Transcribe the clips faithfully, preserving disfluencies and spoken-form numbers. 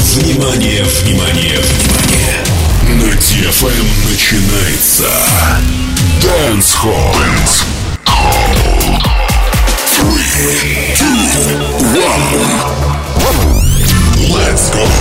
Внимание, внимание, внимание! На ди эф эм начинается Dance Hall. Dance Hall. Three, two, one. Let's go.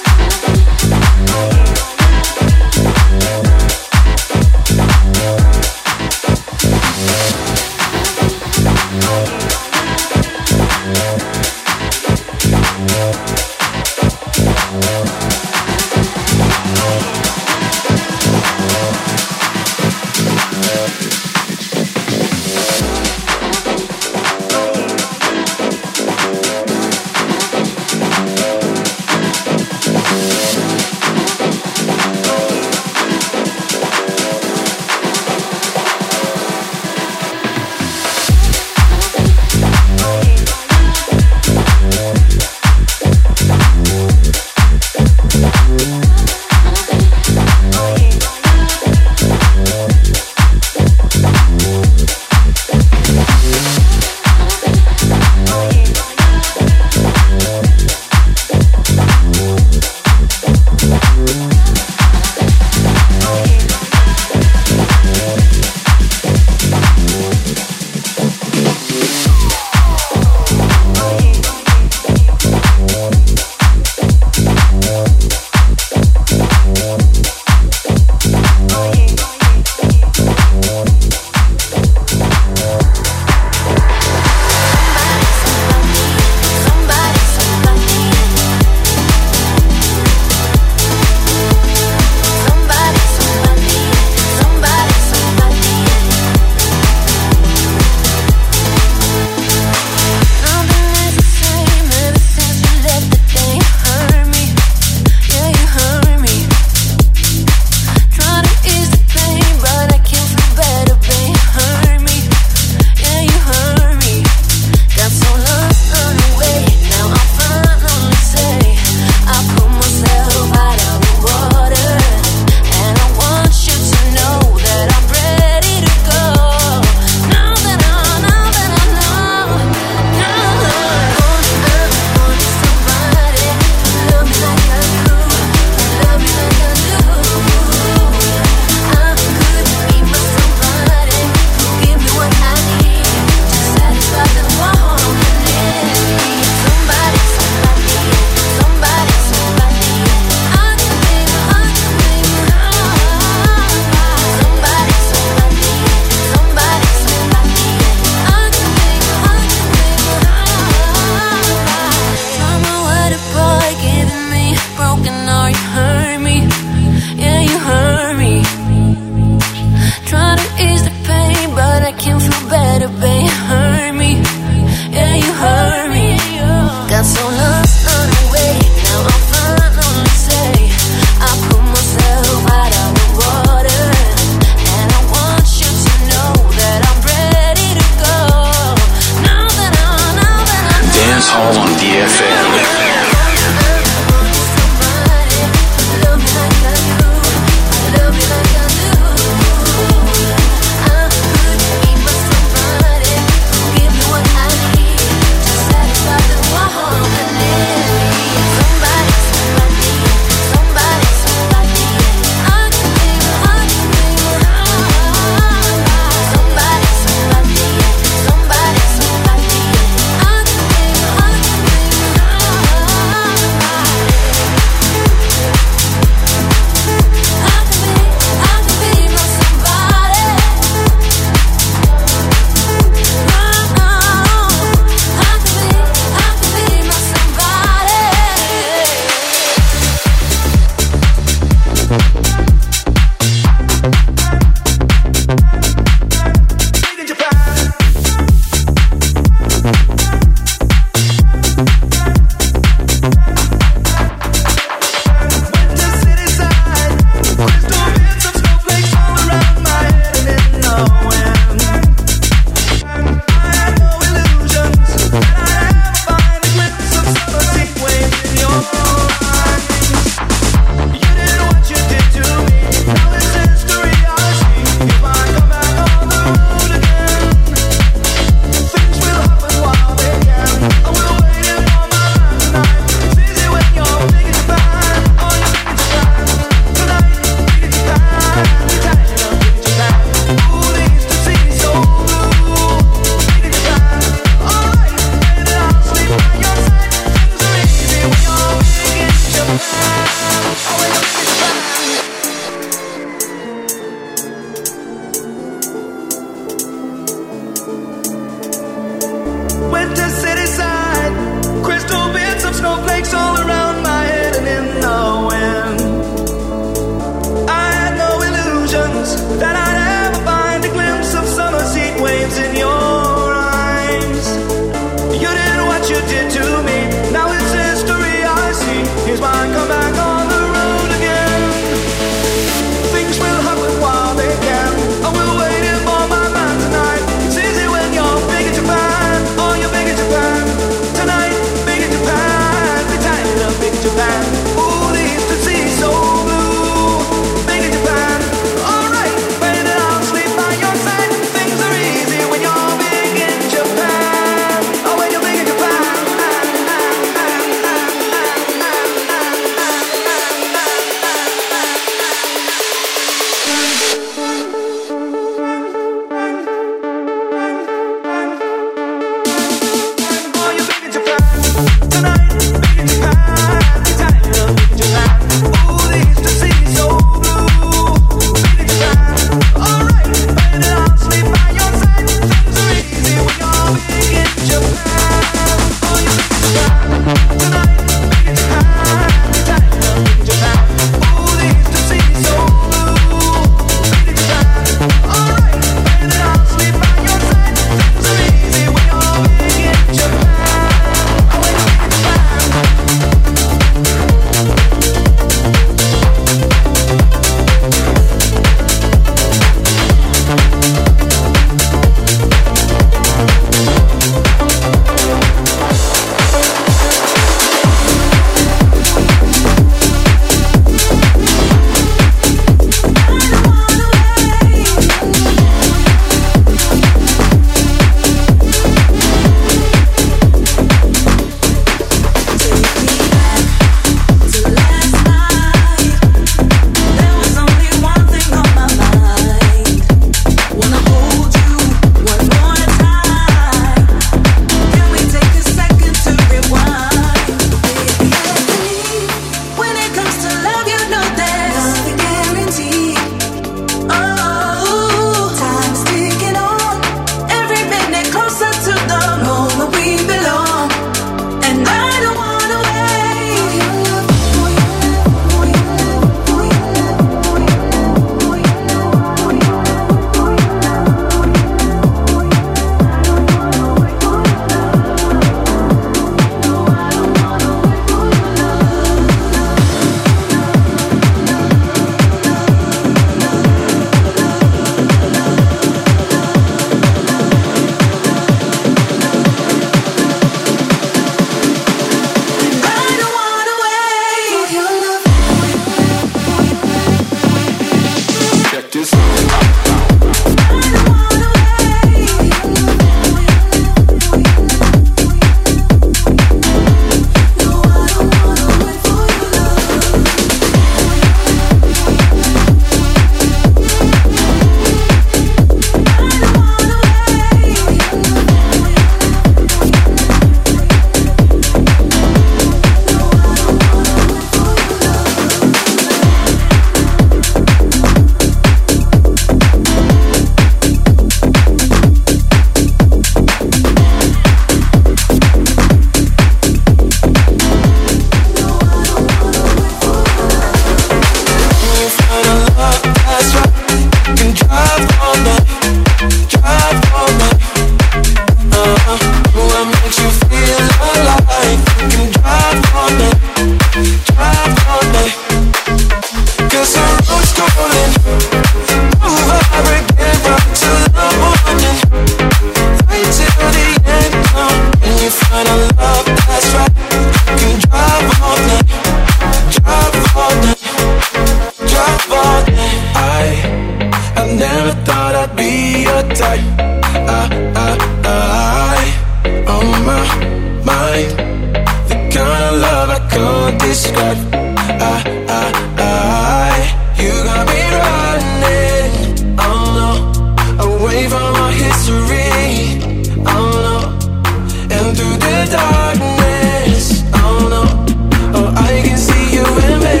your type. I, I, I, on my mind. The kind of love I can't describe. I, I, I, you got me running, oh no, away from our history, oh no, and through the darkness, oh no, oh I can see you in me.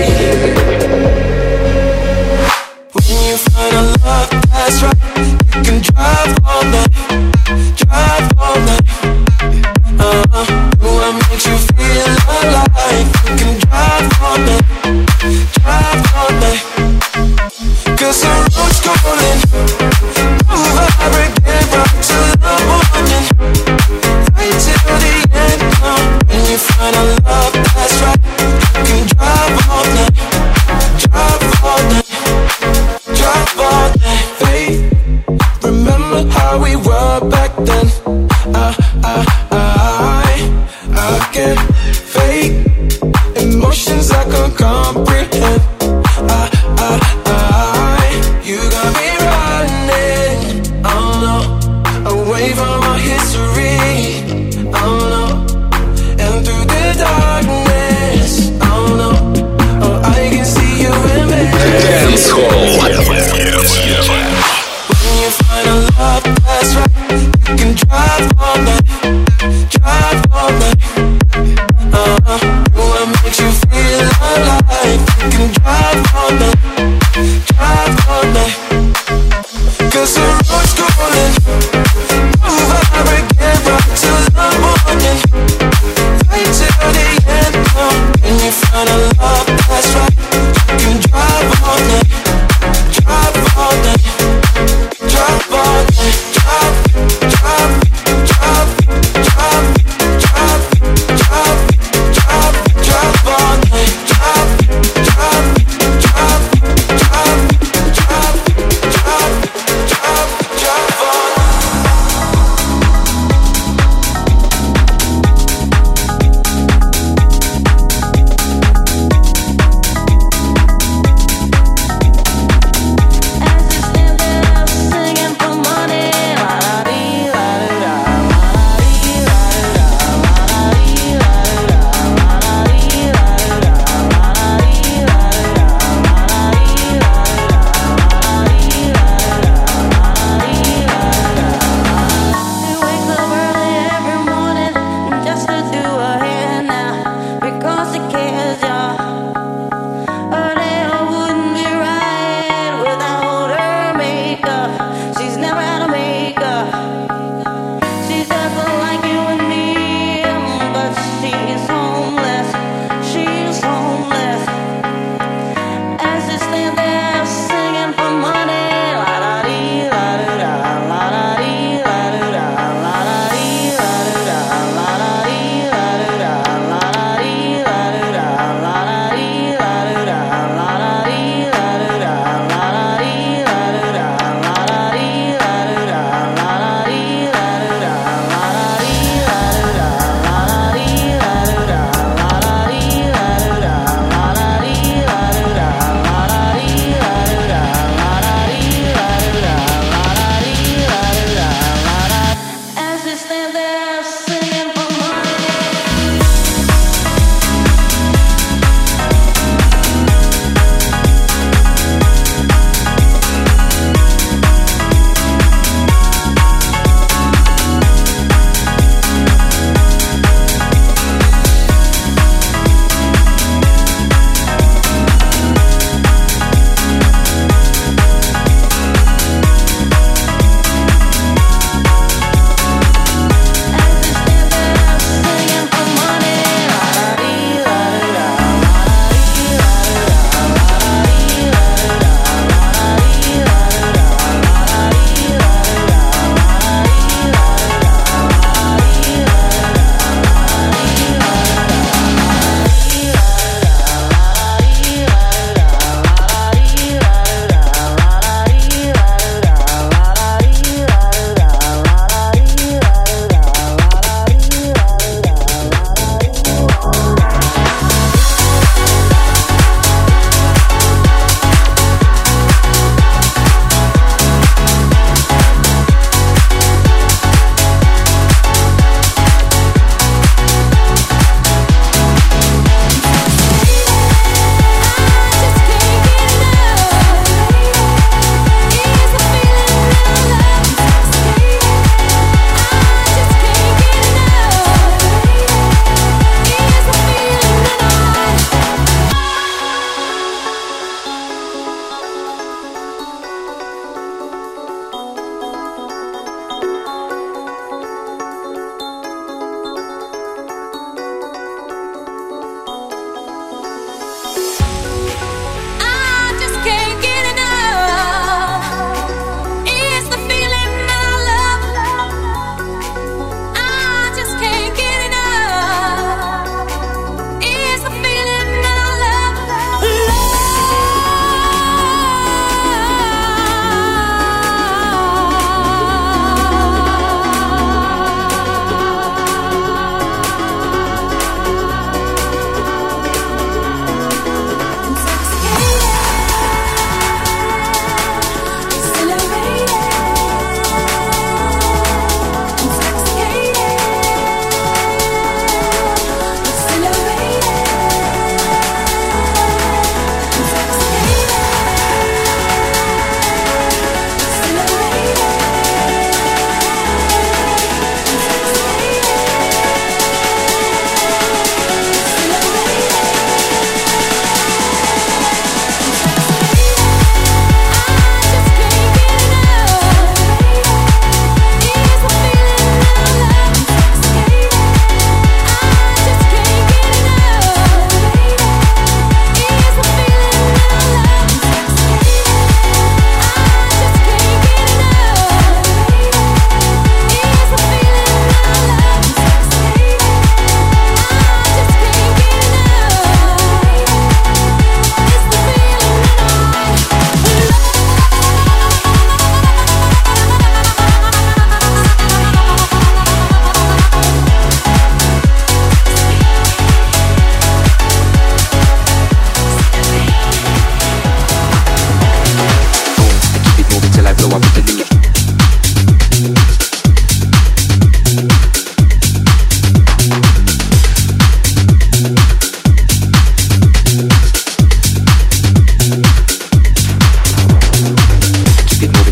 When you find a love that's right, you can drive all night, drive all night. Uh-huh. Do I make you feel alive? You can drive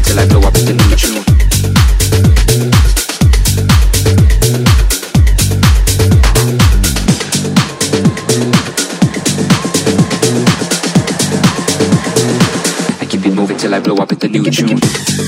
till I blow up with the new tune. I keep it moving till I blow up with the new tune.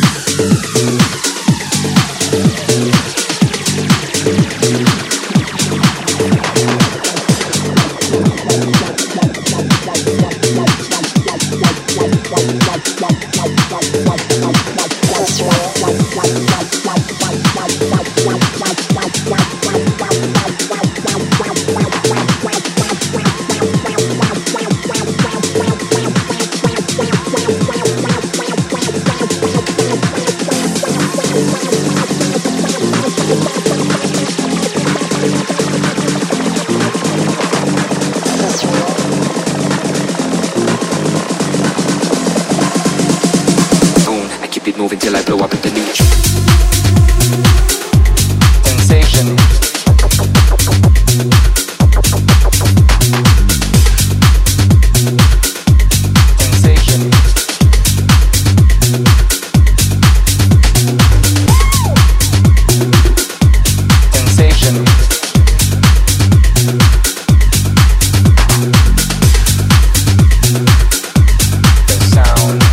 Till I blow up with the new tune. Sensation. Sensation. Sensation. The sound.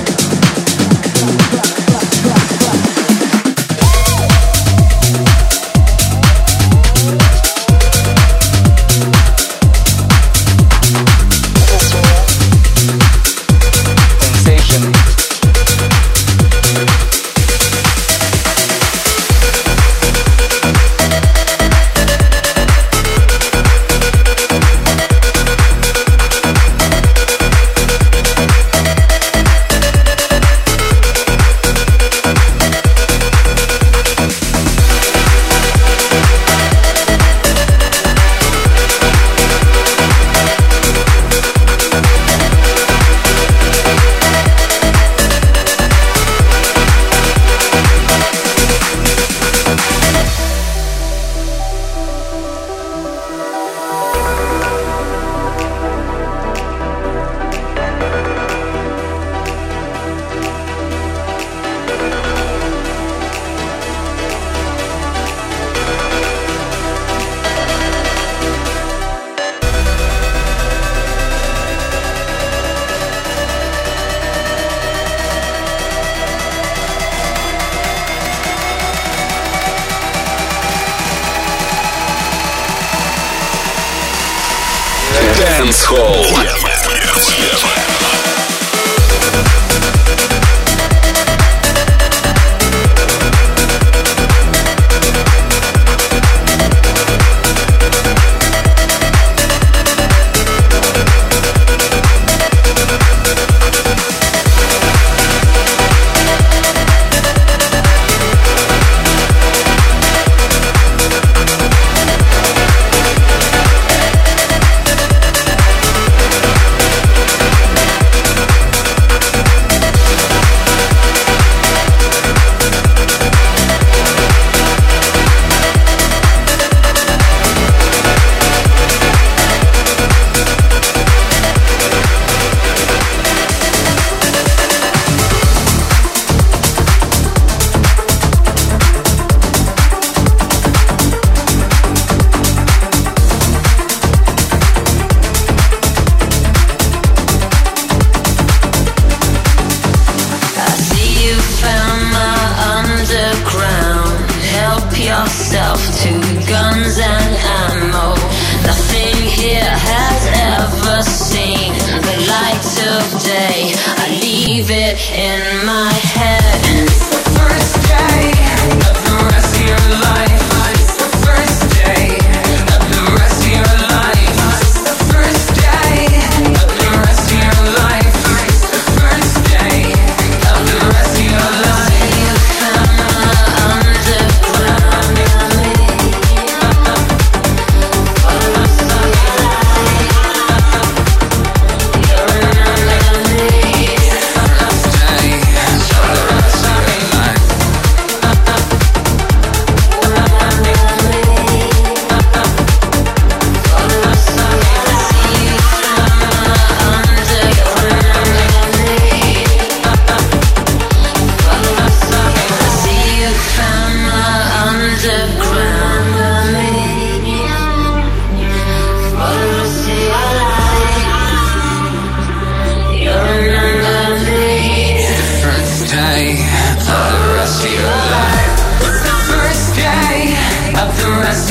Dance Hall.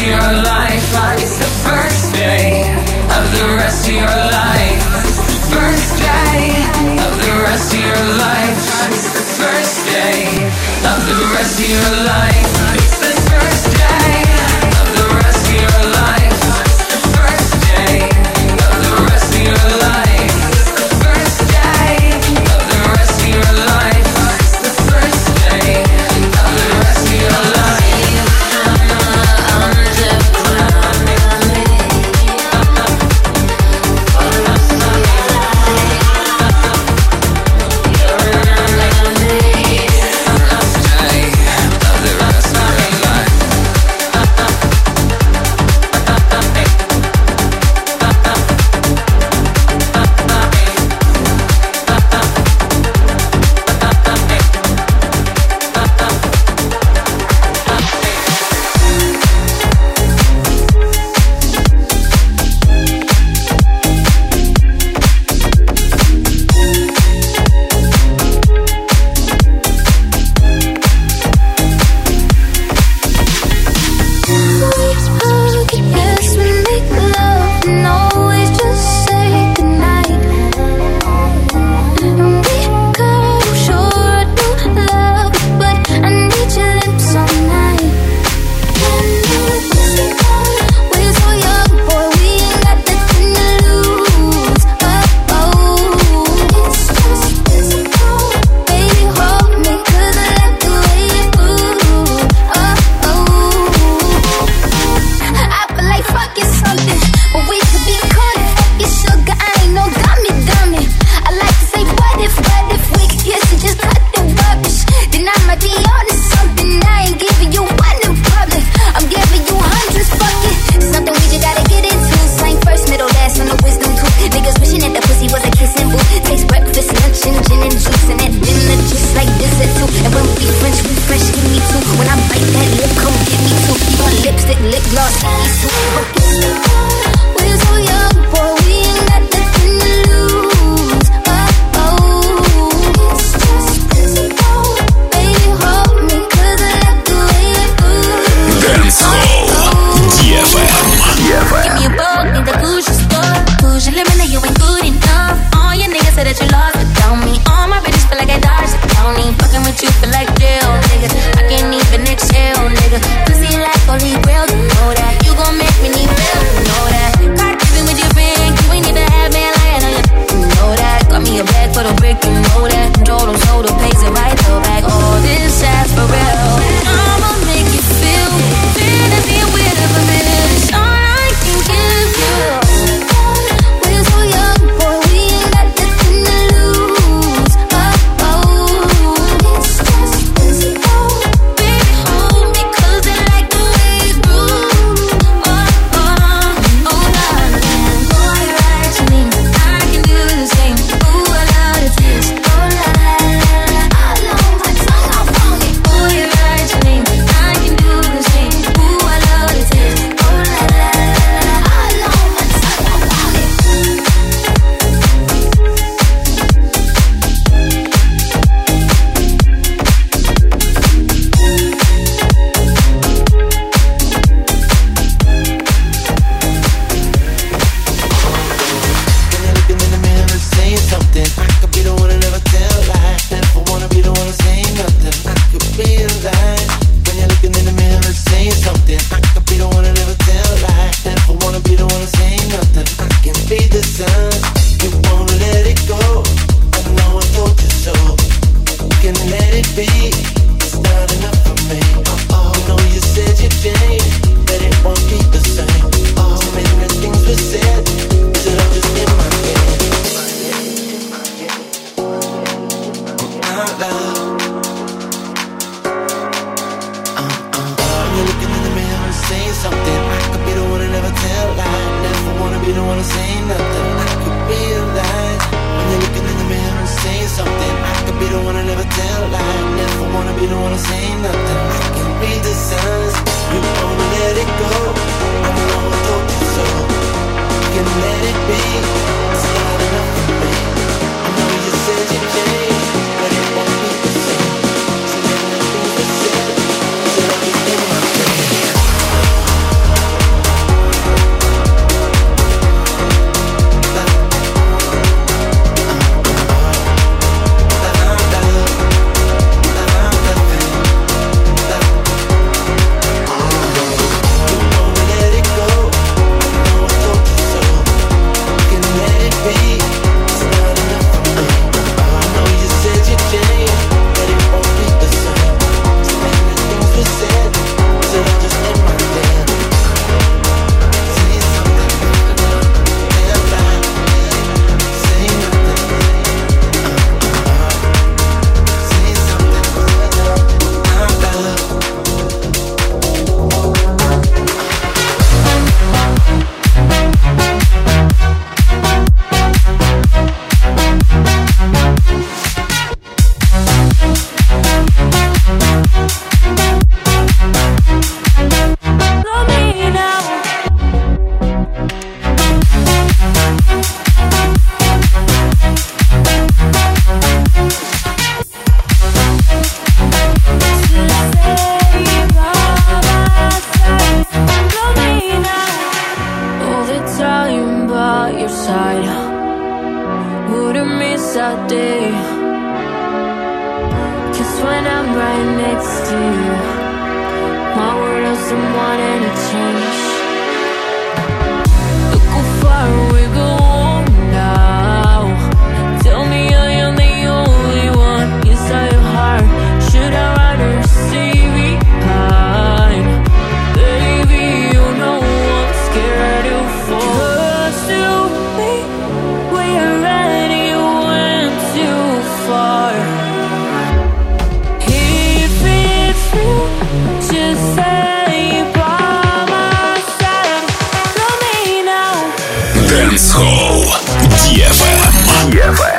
of your life. It's the first day of the rest of your life. First day of the rest of your life. It's the first day of the rest of your life. It's the first day of the rest of your life. It's the first day of the rest of your life. It's the first day of the rest of your life. It's the first day of the rest of your life. My world doesn't want any change. Look how far we go now. Tell me I am the only one inside your heart. Should I rather stay behind? Baby, you know I'm scared to fall. 'Cause to me, we already went too far. If it's real, just say by my side. Love me now. Dancehall ди эф эм. ди эф эм.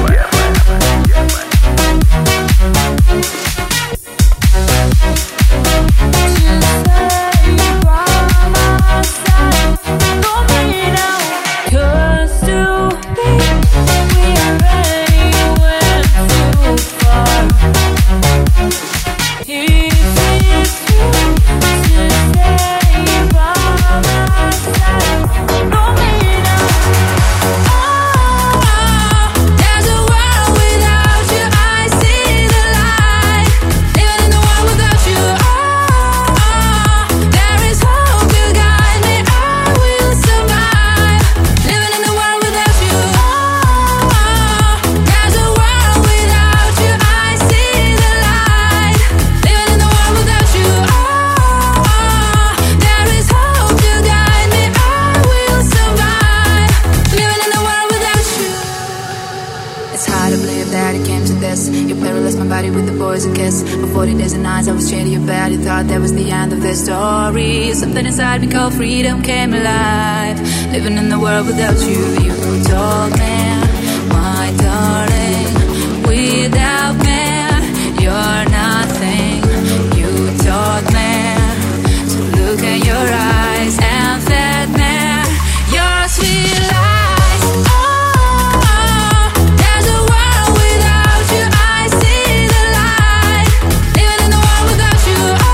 Something inside me called freedom came alive. Living in the world without you. You told me, my darling, without me, you're nothing. You taught me to look in your eyes and fed me your sweet lies. Oh, oh, there's a world without you. I see the light. Living in the world without you. Oh,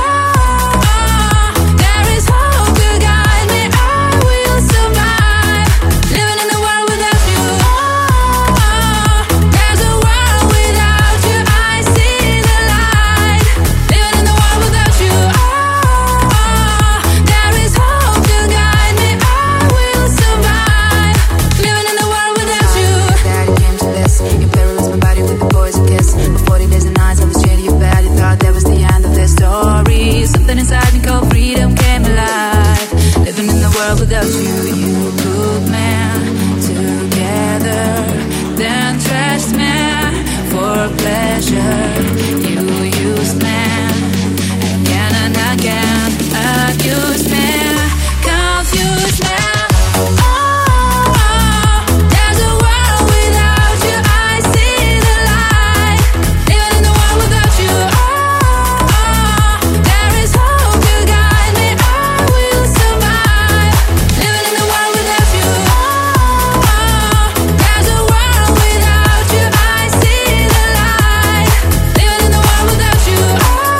without you, you put me together, then trust me for pleasure. You used me again and again, accused me, confused me. Oh,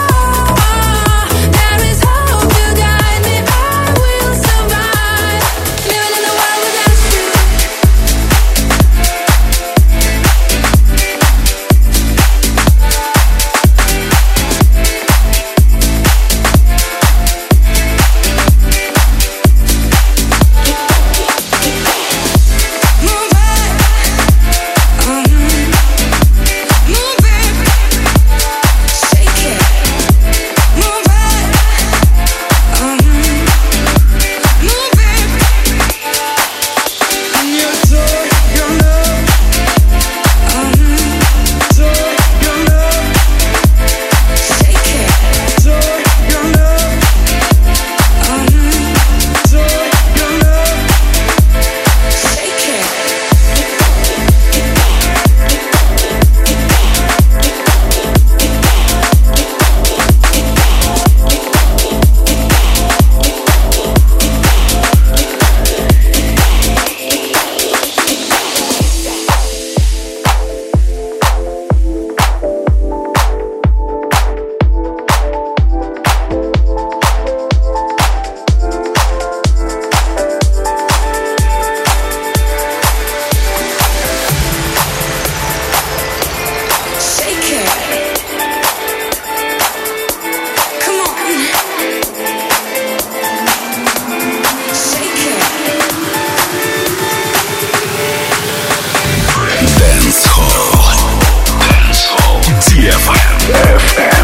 эф эм.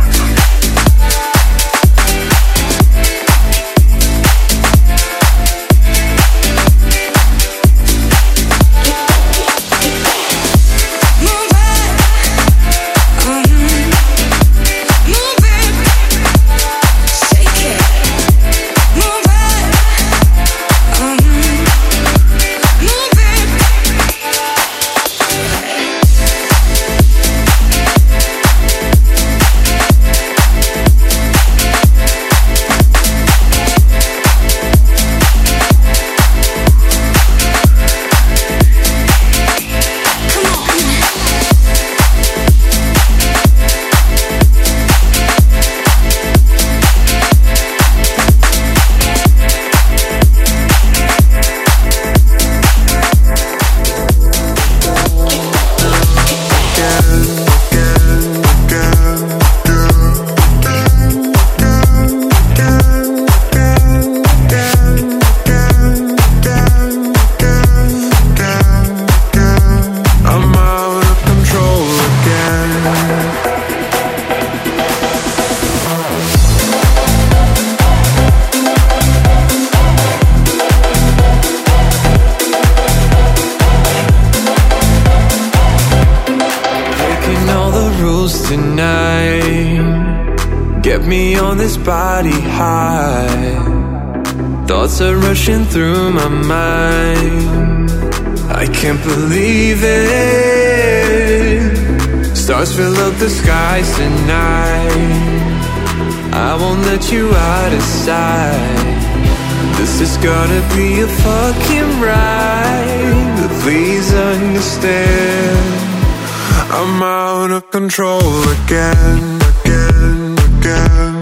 Body high, thoughts are rushing through my mind. I can't believe it. Stars fill up the skies tonight. I won't let you out of sight. This is gonna be a fucking ride, but please understand, I'm out of control again, again, again.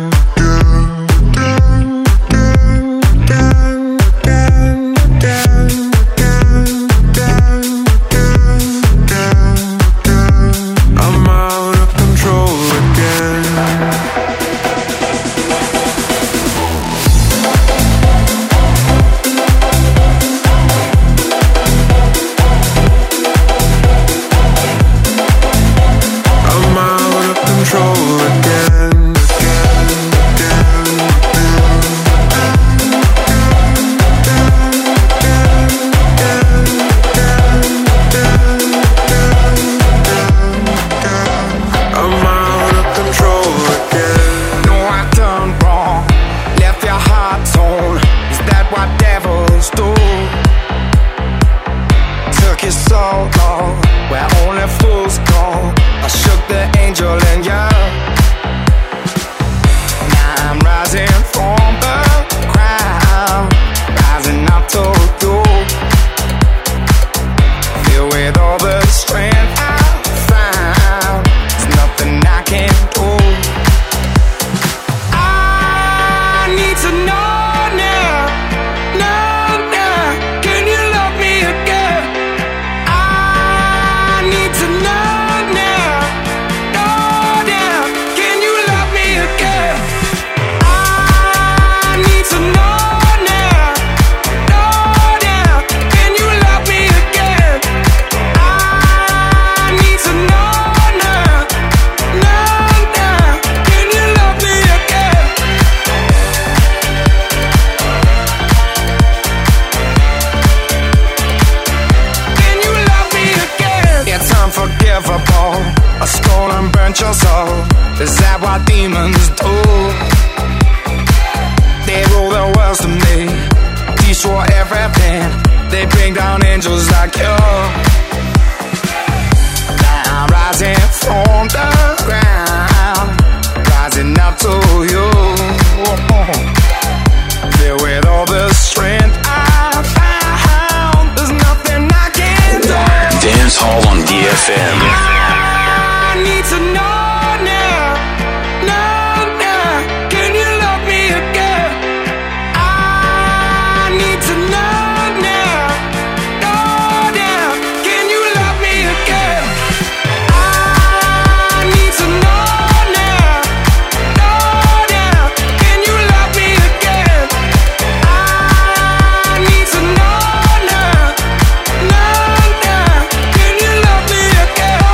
Can you love me again?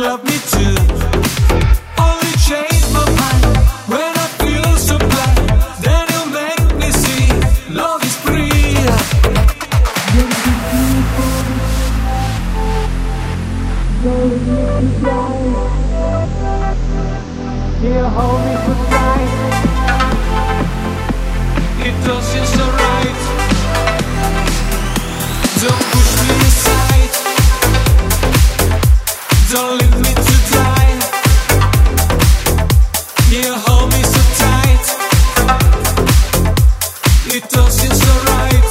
love me too. Only change my mind when I feel so blind. Then you make me see love is free. Yeah, hold me so tight. It don't seem so right. Don't push me aside. Don't leave me to die. Yeah, hold me so tight. It don't seem so right.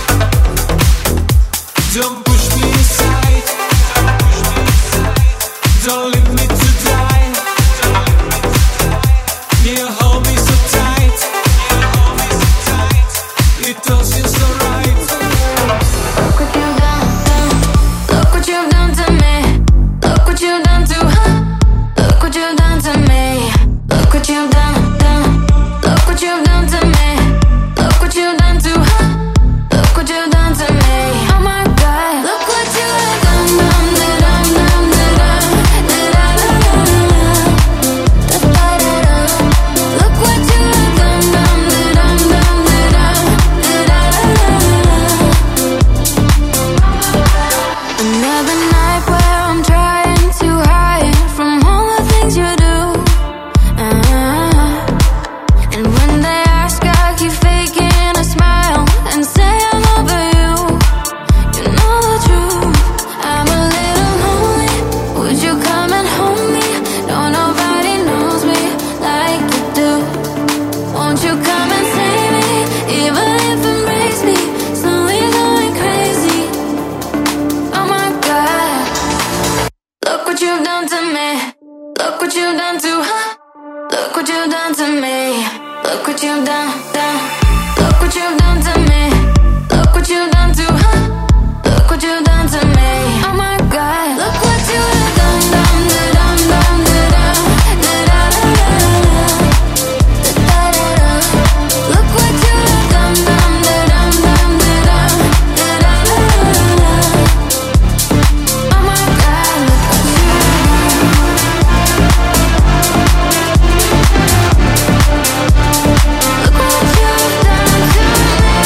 Don't push me aside. Don't leave me to die. Yeah, hold me so tight. It don't seem so right. Look what you've done, done. Look what you've done to me. Look what you've done to her. Look what you've done to me. Look what you've done, done. Look what you've done to me. Look what you've done to her. Look what you've done to me. Oh my God. Look what you have done, done, done, done, done, done. Look what you have done, done, done, done, done. Another night where I'm trying to hide from all the things you do. Uh-huh. And when they ask, I keep faking a smile and say I'm over you. You know the truth. I'm a little lonely. Would you come and hold me? No, nobody knows me like you do. Won't you come and save me? Even if it breaks me, slowly going crazy. Oh my God. Look what you've done to me. Look what you've done to her. Look what you've done to me. Look what you've done, done. Look what you've done to me. Look what you've done to her. Look what you've done to me. Oh my God. Look what you have done, done, done, done, done, done. Look what you have done, done, done, done, done. Oh my God. Look what you've done to me.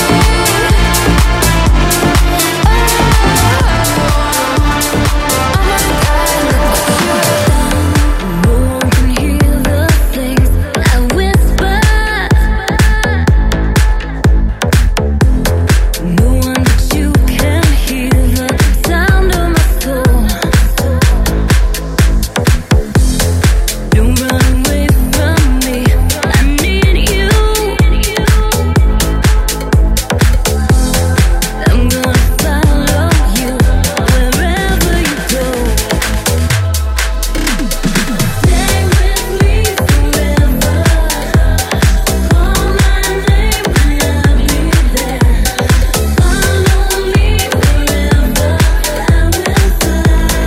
No one can hear the things I whisper. No one but you can hear the sound of my soul. Don't run away from me. I need you. I'm gonna follow you wherever you go. Stay with me forever. Call my name when I'll be there. Follow me wherever I will fly.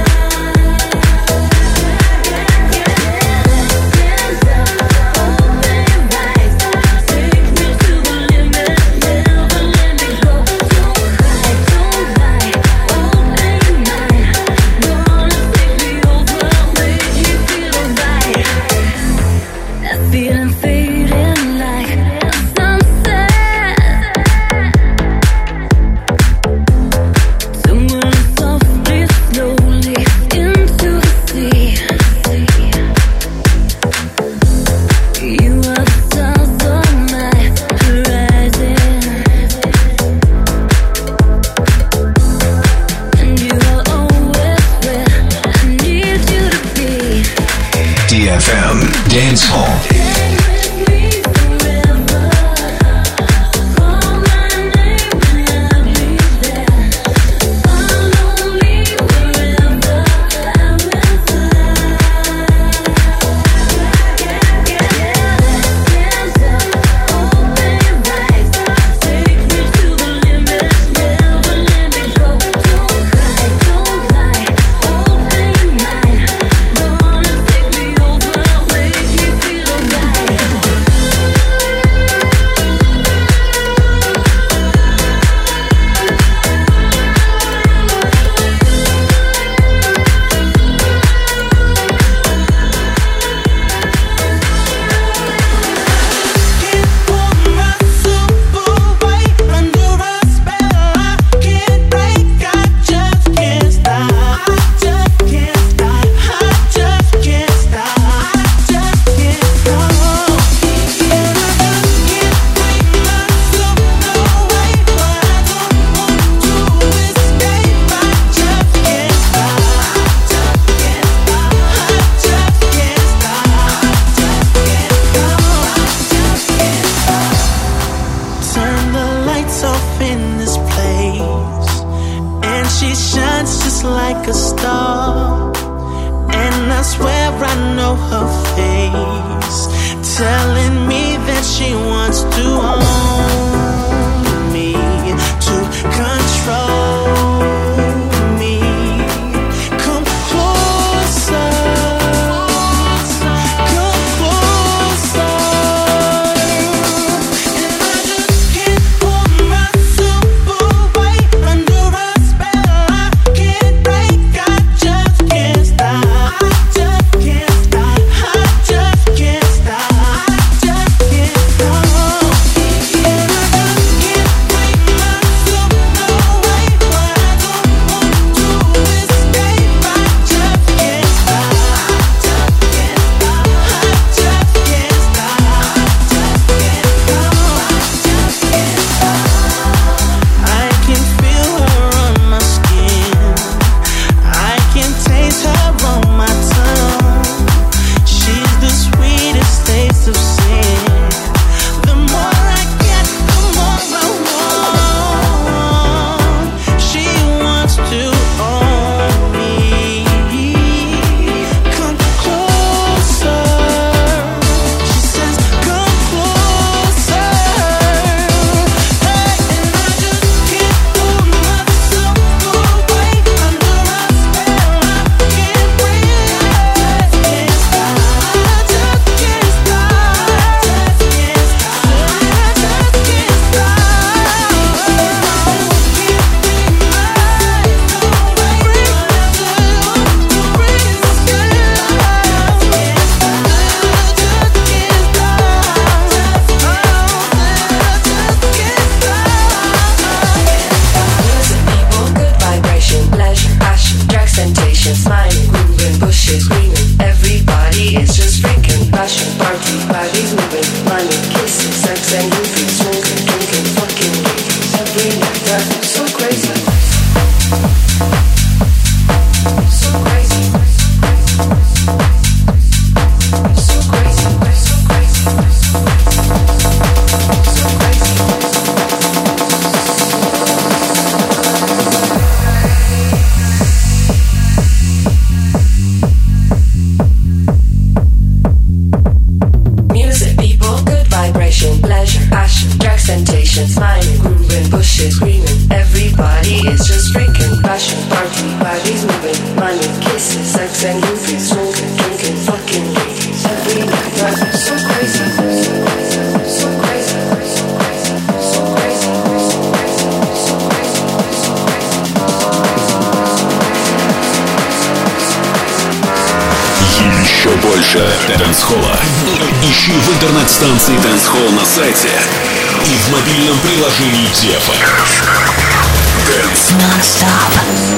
Hands up, open eyes, take me to the limit, never let me go. Don't cry, don't lie, open mine. Gonna take me over, make me feel alright. That feeling fading like a sunset. Somewhere softly, slowly into the sea. You are the stars on my horizon, and you are always where I need you to be. D F M Dance Hall. Stay with me forever. Call my name when I'll be there. Follow me wherever I will fly. Hands up, open eyes, take me to the limit, never let me go. Don't cry, don't lie, open mine. Gonna take me over, make me feel alright. swear I know her face, telling me that she wants to own me, to control me. Come closer, come closer, and I just can't pull myself away under a spell I can't break. I just can't stop. I just can't stop. I just can't stop. I just can't stop. And I just can't break myself away, but I don't want to escape. I just can't stop. I just can't stop. I just can't stop. I just can't stop. I just can't stop. I can feel her on my skin. I can taste her on my tongue. She's the sweetest taste of sin. The more I get, the more I want. She wants to own me. Come closer. She says, come closer. Hey, and I just can't pull myself away under a spell I can't break. I just can't stop. I just can't stop. I just can't stop. I just can't stop. People, good vibration, pleasure, passion, drugs, temptation, smiling, grooving, bushes, screaming. Everybody is just freaking passion, party, bodies moving, money, kisses, sex and movies, smoking, drinking, fucking ladies. Every night driving so crazy, so crazy, so crazy, so crazy, so crazy. Music, people, good vibration, pleasure, passion, drugs, temptation, smiling, grooving, bushes, screaming. Everybody is just freaking passion, party, bodies moving, money, kisses, sex and movies, smoking, drinking, fucking ladies. Every night driving so crazy, so crazy, so crazy, so crazy, so crazy, so Еще больше дэнс-холла ищи в интернет-станции Dance Hall на сайте и в мобильном приложении ди эф эм. Dance Non-stop.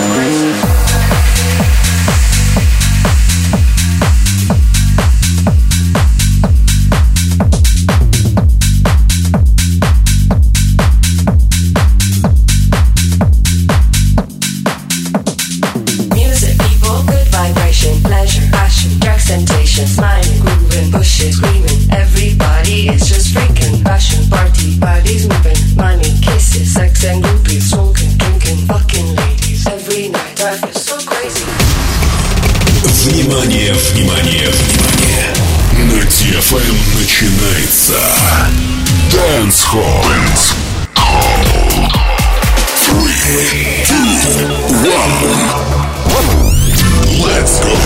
Music, people, good vibration, pleasure, passion, drugs, temptation, smiling, grooving, bushes, screaming. Everybody is just freaking passion, party, bodies moving, money, kisses, sex and groupies, smoking, drinking, fucking ladies. Every night driving so crazy. Внимание, внимание, внимание! На ди эф эм начинается Dance Hall. Dance Hall. Three, two, one. Let's go.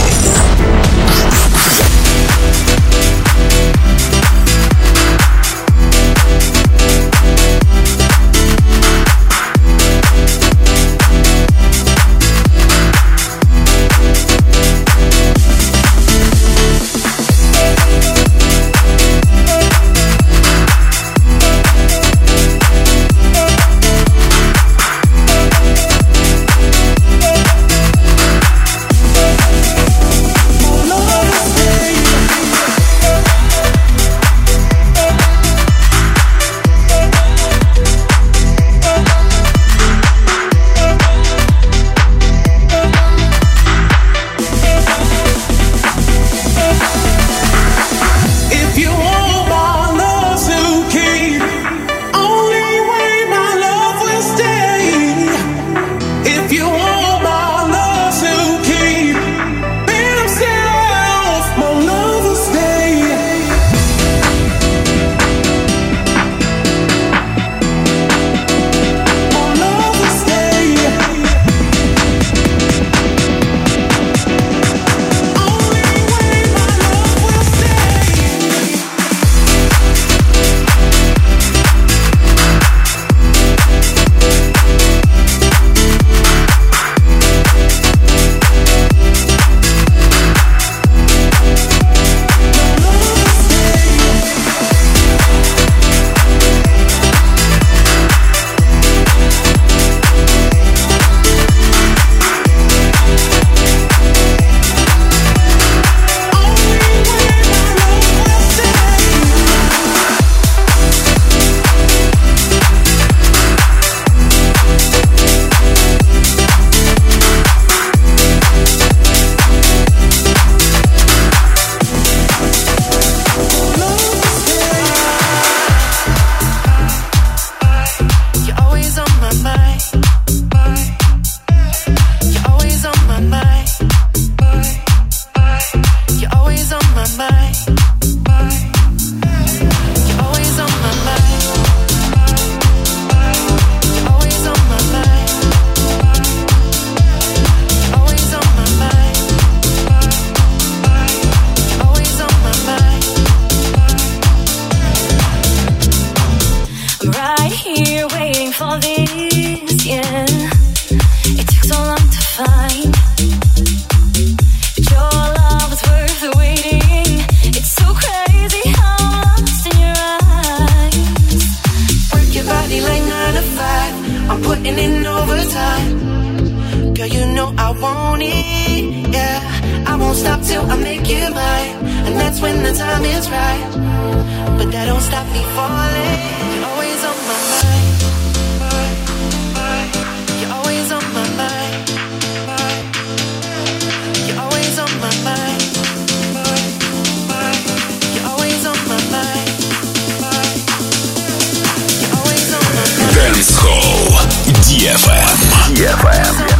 on my mind. You're always on my mind. You're always on my mind. You're always on my mind. You're always on my mind. I'm right here waiting for this, yeah. It took so long to find. Your love is worth the waiting. It's so crazy how I'm lost in your eyes. Work your body like nine to five. I'm putting in overtime. Girl, you know I want it, yeah. I won't stop till I make you mine. And that's when the time is right. But that don't stop me falling. You're always on my mind. You're always on my mind. You're always on my mind. You're always on my mind. You're always on my mind. Dance Hall ди эф эм. ди эф эм.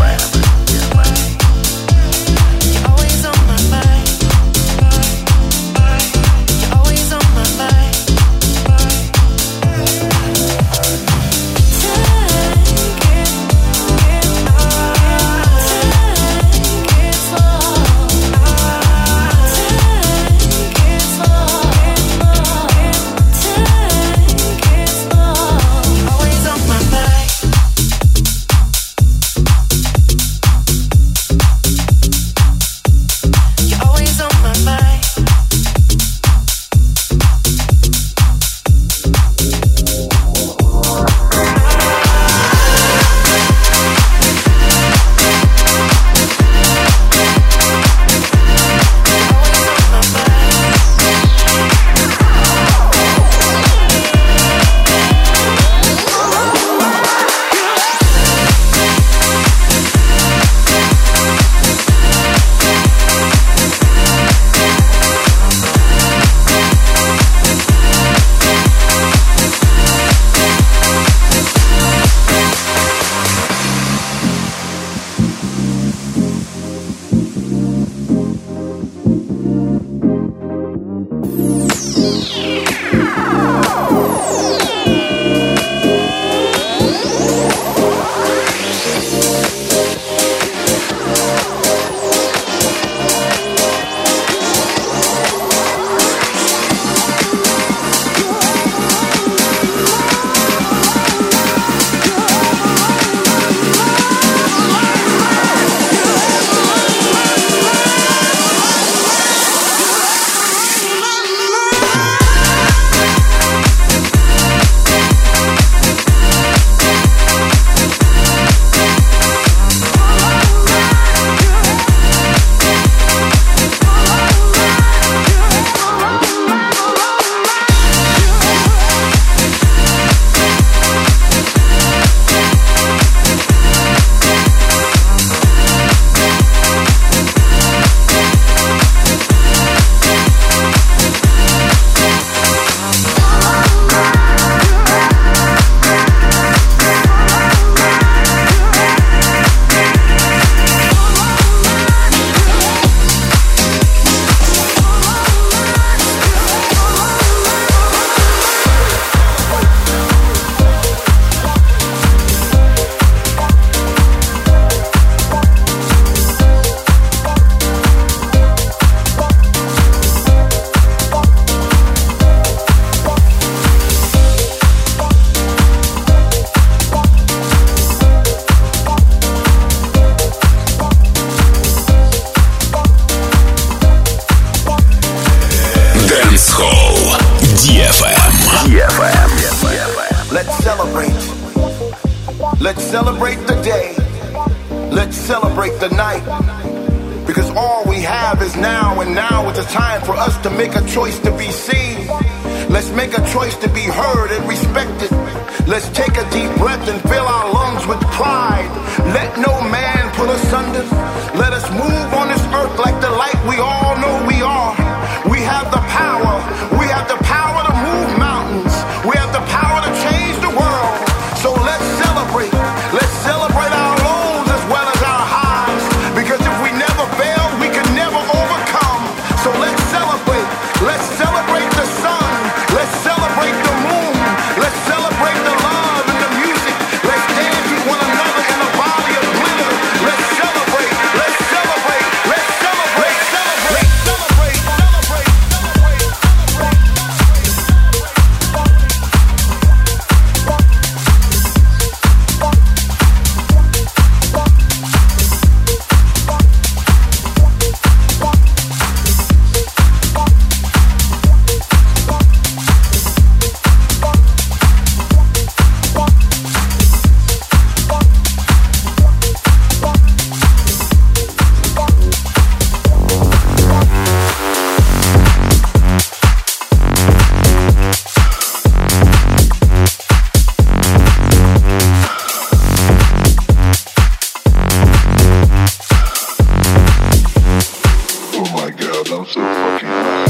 Let's celebrate the day. Let's celebrate the night. Because all we have is now, and now is the time for us to make a choice to be seen. Let's make a choice to be heard and respected. Let's take a deep breath and fill our lungs with pride. Let no man put us under. Let us move on this earth like the light we all know we are. We have the power. We have the power to move mountains. We have the power to change the world. So let's celebrate. Let's celebrate our lows as well as our highs. Because if we never fail, we can never overcome. So let's God, I'm so fucking high.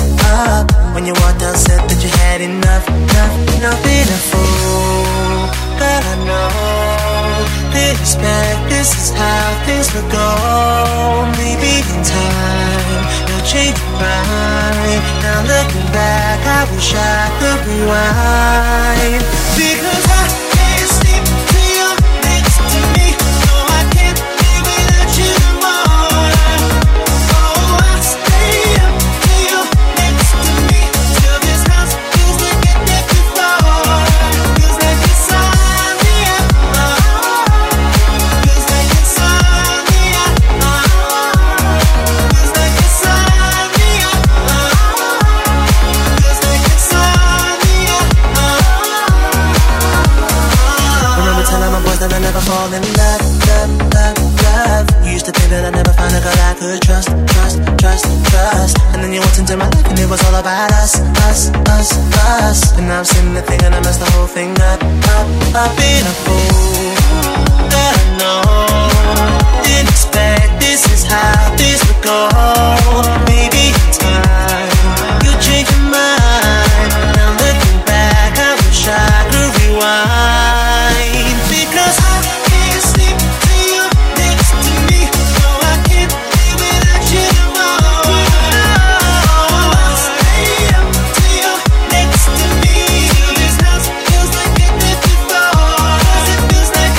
When you walked out, said that you had enough, enough, enough being a fool. Girl, I know, didn't expect this is how things would go. Maybe in time, you'll change your mind. Now looking back, I wish I could rewind. Because I can't sleep till you're next to me. No, I can't live without you tomorrow. Oh, I stay up till you're next to me. Till this house feels like it did before. Feels like it's on the air. Feels like it's on the air. Feels like it's on the air. Feels like it's on the air. Remember telling my boys that I never fall in love, love, love, love. You used to think that I never found a girl I could trust, trust, trust, trust. And then you walked into my life and it was all about us, us, us, us. And now I'm sitting there thinking I messed the whole thing up, up, up. Being a fool, God, I know. Didn't expect this is how this would go. Maybe in time you change your mind. Now looking back, I wish I could rewind. Because I can't sleep till you're next to me. No, I can't live without you tomorrow. I'll stay up till you're next to me. Till this house feels like it did before. 'Cause it feels like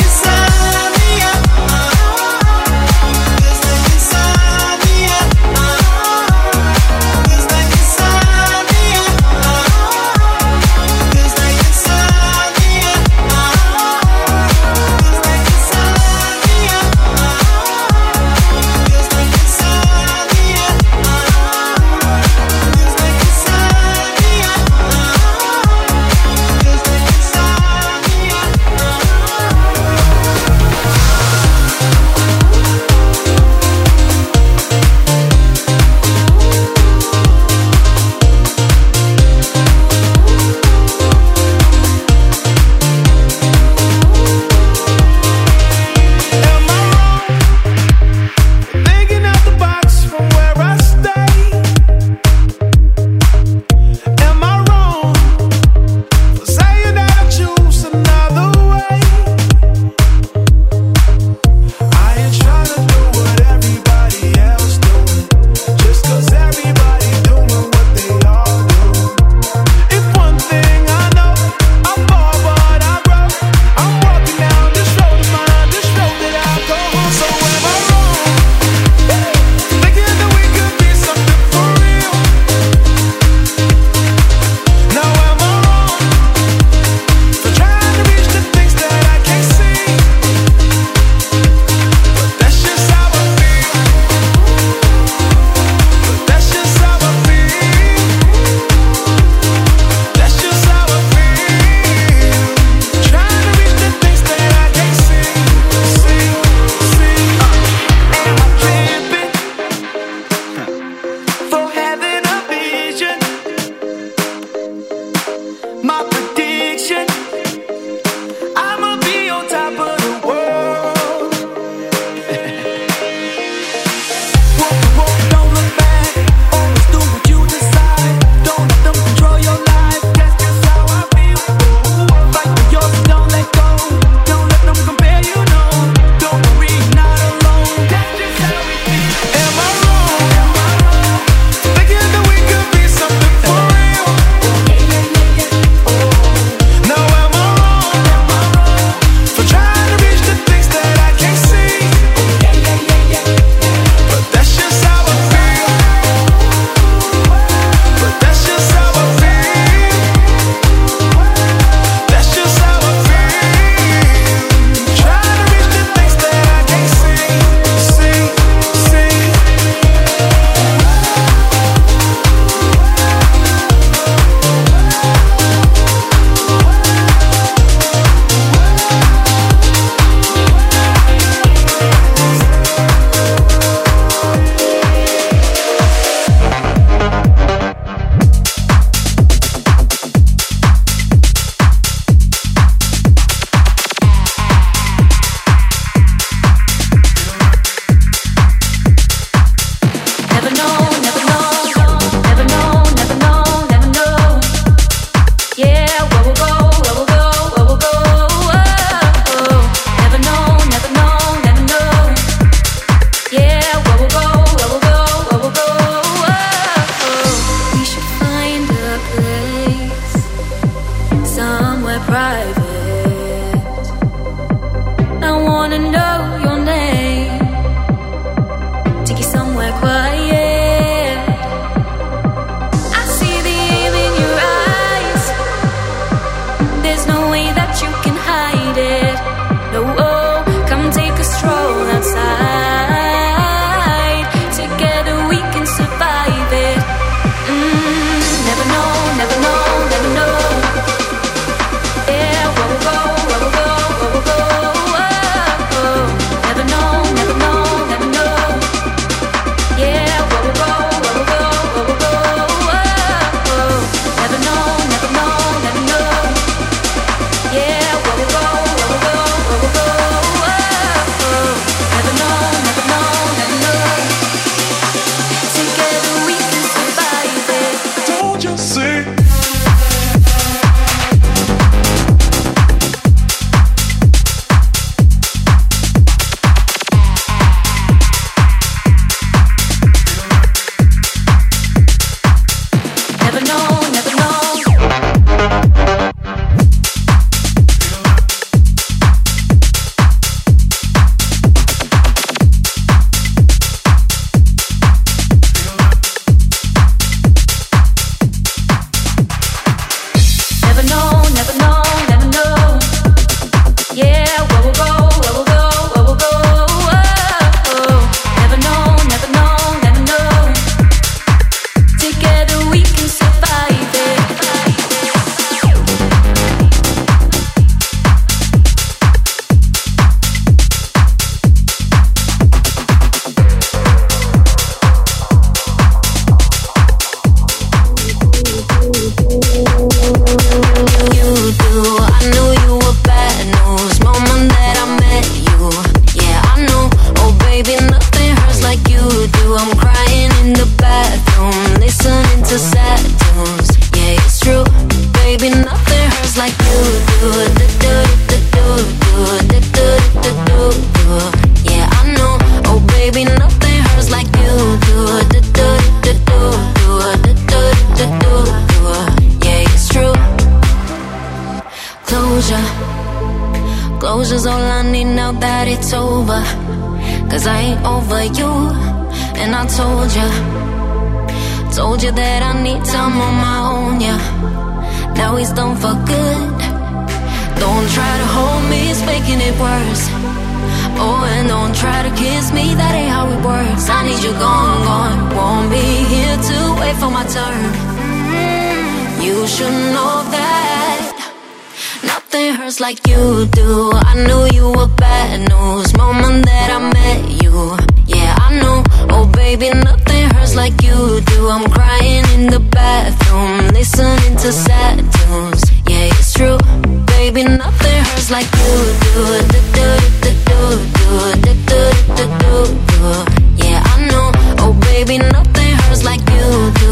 wanna know your name. Take you somewhere quiet. I see the aim in your eyes. There's no way that you can hide it. No, oh, come take a stroll outside. Together we can survive it. Mm, never know, never know, never know. Yeah, where we'll go, where we'll go, where we'll go. Oh, oh. Never know, never know, never know. Yeah, where we'll go, where we'll go, where we'll go. Oh, oh. Never know, never know, never know. Yeah, where we'll go, where we'll go, where we'll go. Oh, oh. Never know, never know, never know. Together we can survive it. Don't you see? Never know, never know. Never know, never know, never know. Yeah, where we'll go, where we'll go, where we'll go. Oh, oh. Never know, never know, never know. Together we can survive it. You do. I knew you were bad news. Moment that I met you. Yeah, I know. Oh, baby, nothing hurts like you do. I'm crying in the bathroom, listening to sad tunes. Yeah, it's true. Baby, nothing hurts like you do. Do-do-do-do-do-do-do-do-do-do. Yeah, I know. Oh, baby, nothing hurts like you do. Do-do-do-do-do-do-do-do-do. Yeah, it's true. Closure, closure's all I need now that it's over. Cause I ain't over you. And I told you, told you that I need time on my own, yeah. Now he's done for good. Don't try to hold me, it's making it worse. Oh, and don't try to kiss me, that ain't how it works. I need you gone, gone. Won't be here to wait for my turn. You should know that nothing hurts like you do. I knew you were bad news. Moment that I met you. Yeah, I know. Oh, baby, nothing hurts like you do. I'm crying in the bathroom, listening to sad tunes. Yeah, it's true. Baby, nothing hurts like you do. Do-do-do-do-do-do-do-do-do. Yeah, I know. Oh, baby, nothing hurts like you do.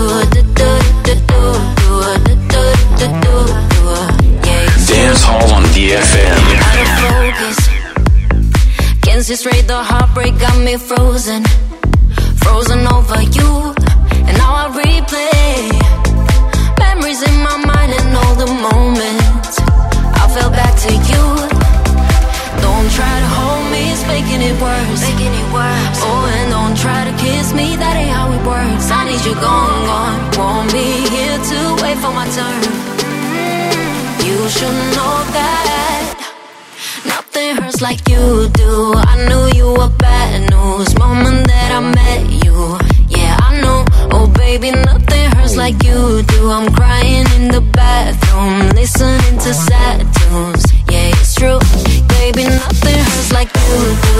Do-do-do-do-do-do-do-do. Dance Hall on D F M. Out of focus. Can't see straight, the heartbreak got me frozen. Frozen over you. And now I replay memories in my mind and all the moments I fell back to you. Don't try to hold me, it's making it worse. Making it worse. Oh, and don't try to kiss me, that ain't how it works. I need you gone, gone. Won't be here to wait for my turn. You should know that nothing hurts like you do. I knew you were bad news. Moment that I met you. Yeah, I know. Oh, baby, nothing hurts like you do. I'm crying in the bathroom, listening to sad tunes. Yeah, it's true. Baby, nothing hurts like you do.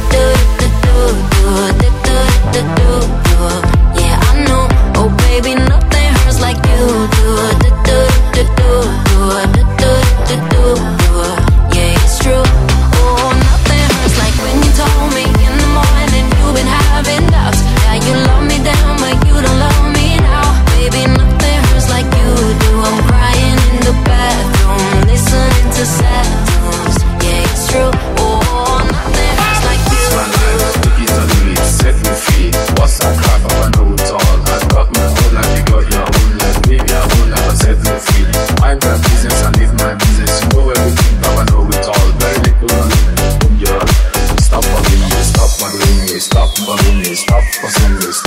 Do-do-do-do-do-do-do-do-do. Yeah, I know. Oh, baby, nothing hurts like you do. Do-do-do-do-do-do-do-do. Yeah, it's true. Oh, nothing hurts like when you told me in the morning you've been having doubts. Yeah, you love me down, but you don't love me now. Baby, nothing hurts like you do. I'm crying in the bathroom, listening to sad tunes. Yeah, it's true.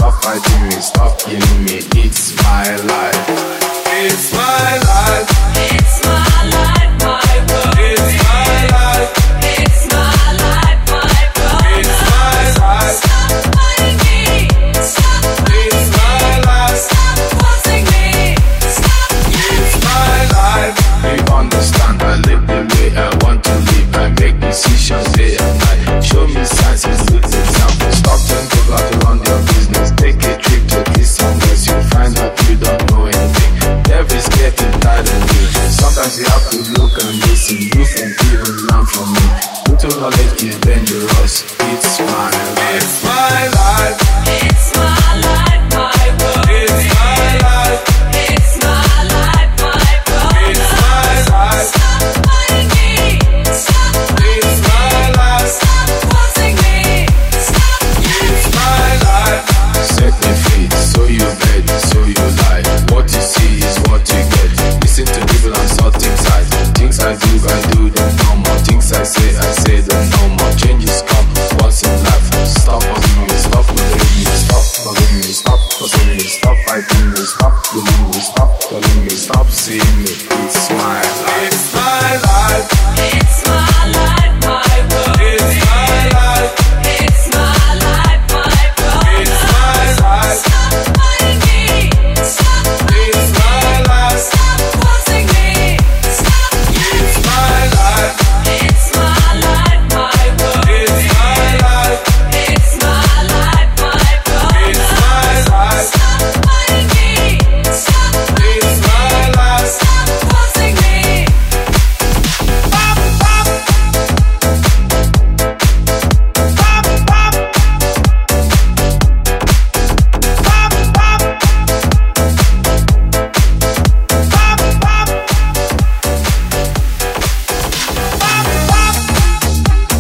stop fighting me, stop killing me. It's my life. It's my life. It's my life, my world. It's my life. It's my life, my world. It's my life. Stop fighting me. Stop fighting It's my life. Stop forcing me. Stop. It's my life. You understand? I live the way I want to live. I make decisions day and night. Show me signs and good examples. Stop telling people how to run your business. Take a trip to this somewhere. You'll find out you don't know anything. Every's getting tired of you. Sometimes you have to look and listen. You can even learn from me. Little knowledge is dangerous. It's my life. It's my life. It's my life, my world. It's my life. It's my life, my world. It's my life. Stop fighting me. Stop. It's my life. Stop forcing me. Stop. It's my life. Set me free, so you bet, so you lie. What you see is what you get. Listen to people and sort things out. Things I do, I do them no more. Things I say, I say them no more. Changes come once in life. Stop forcing me, stop forcing me, stop forcing me, stop forcing me, stop fighting me, stop killing me, stop telling me, stop seeing me. It's my life. It's my life. It's my life, my world. It's my life. It's my life, my world. It's my life. Stop fighting me. Stop. It's my life. Stop forcing me. Stop. It's my life. It's my life, my world. It's my life. It's my life, my world. It's my life. Stop fighting me. Stop. It's my life. Stop forcing me. Pop, pop. Pop, pop. Pop, pop. Pop, pop. Pop, pop.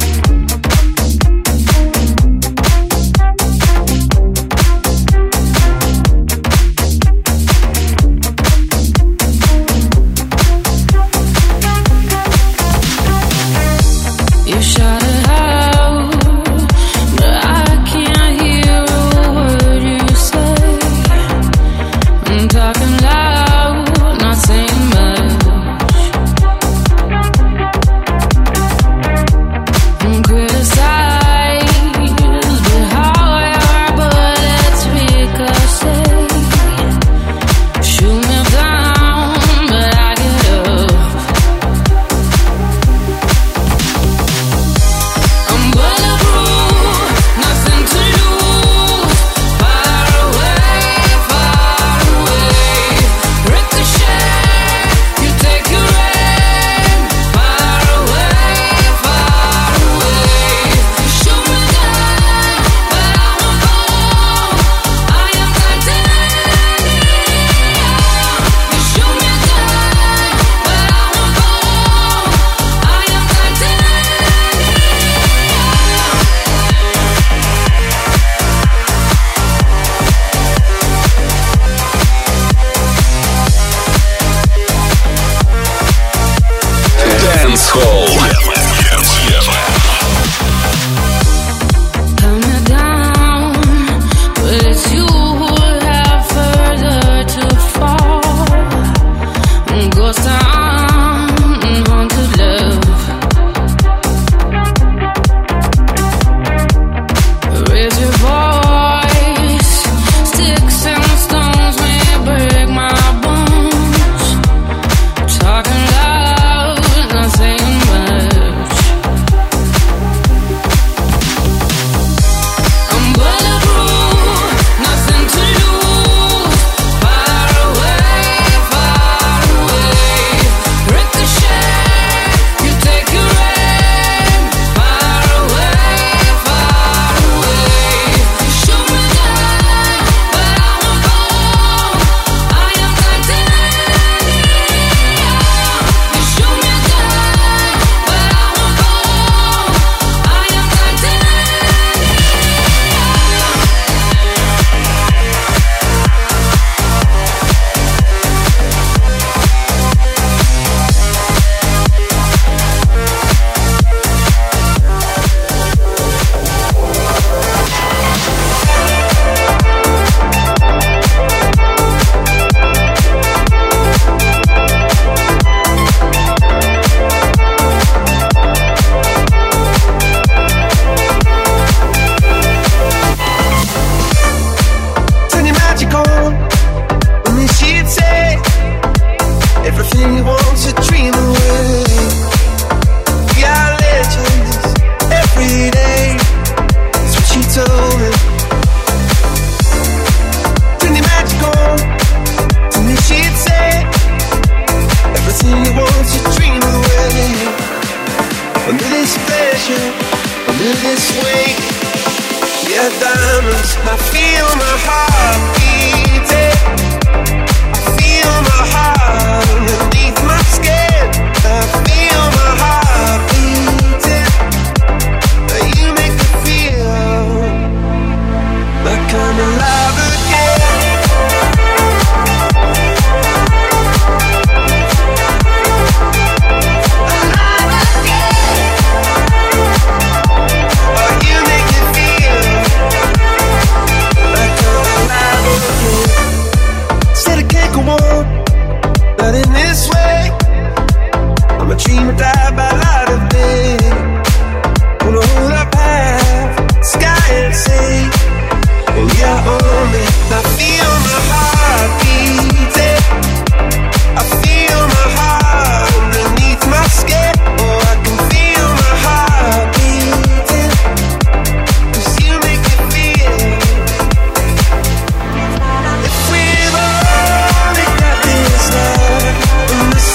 You shout it out, but I can't hear a word you say. I'm talking loud, not saying much. I'm criticized, but however bullets ricochet. Shoot me down, but I get up. again. Under this weight, yeah, diamonds. I feel my heart beating. I feel my heart underneath my skin. I feel my heart beating. You make me feel like I'm alive again. Dream or die by light of day. Wanna hold up half sky and say, oh yeah, on me. I feel my heart beating. I feel my heart underneath my skin. Oh, I can feel my heart beating. 'Cause you make me feel. If we've only got this love and this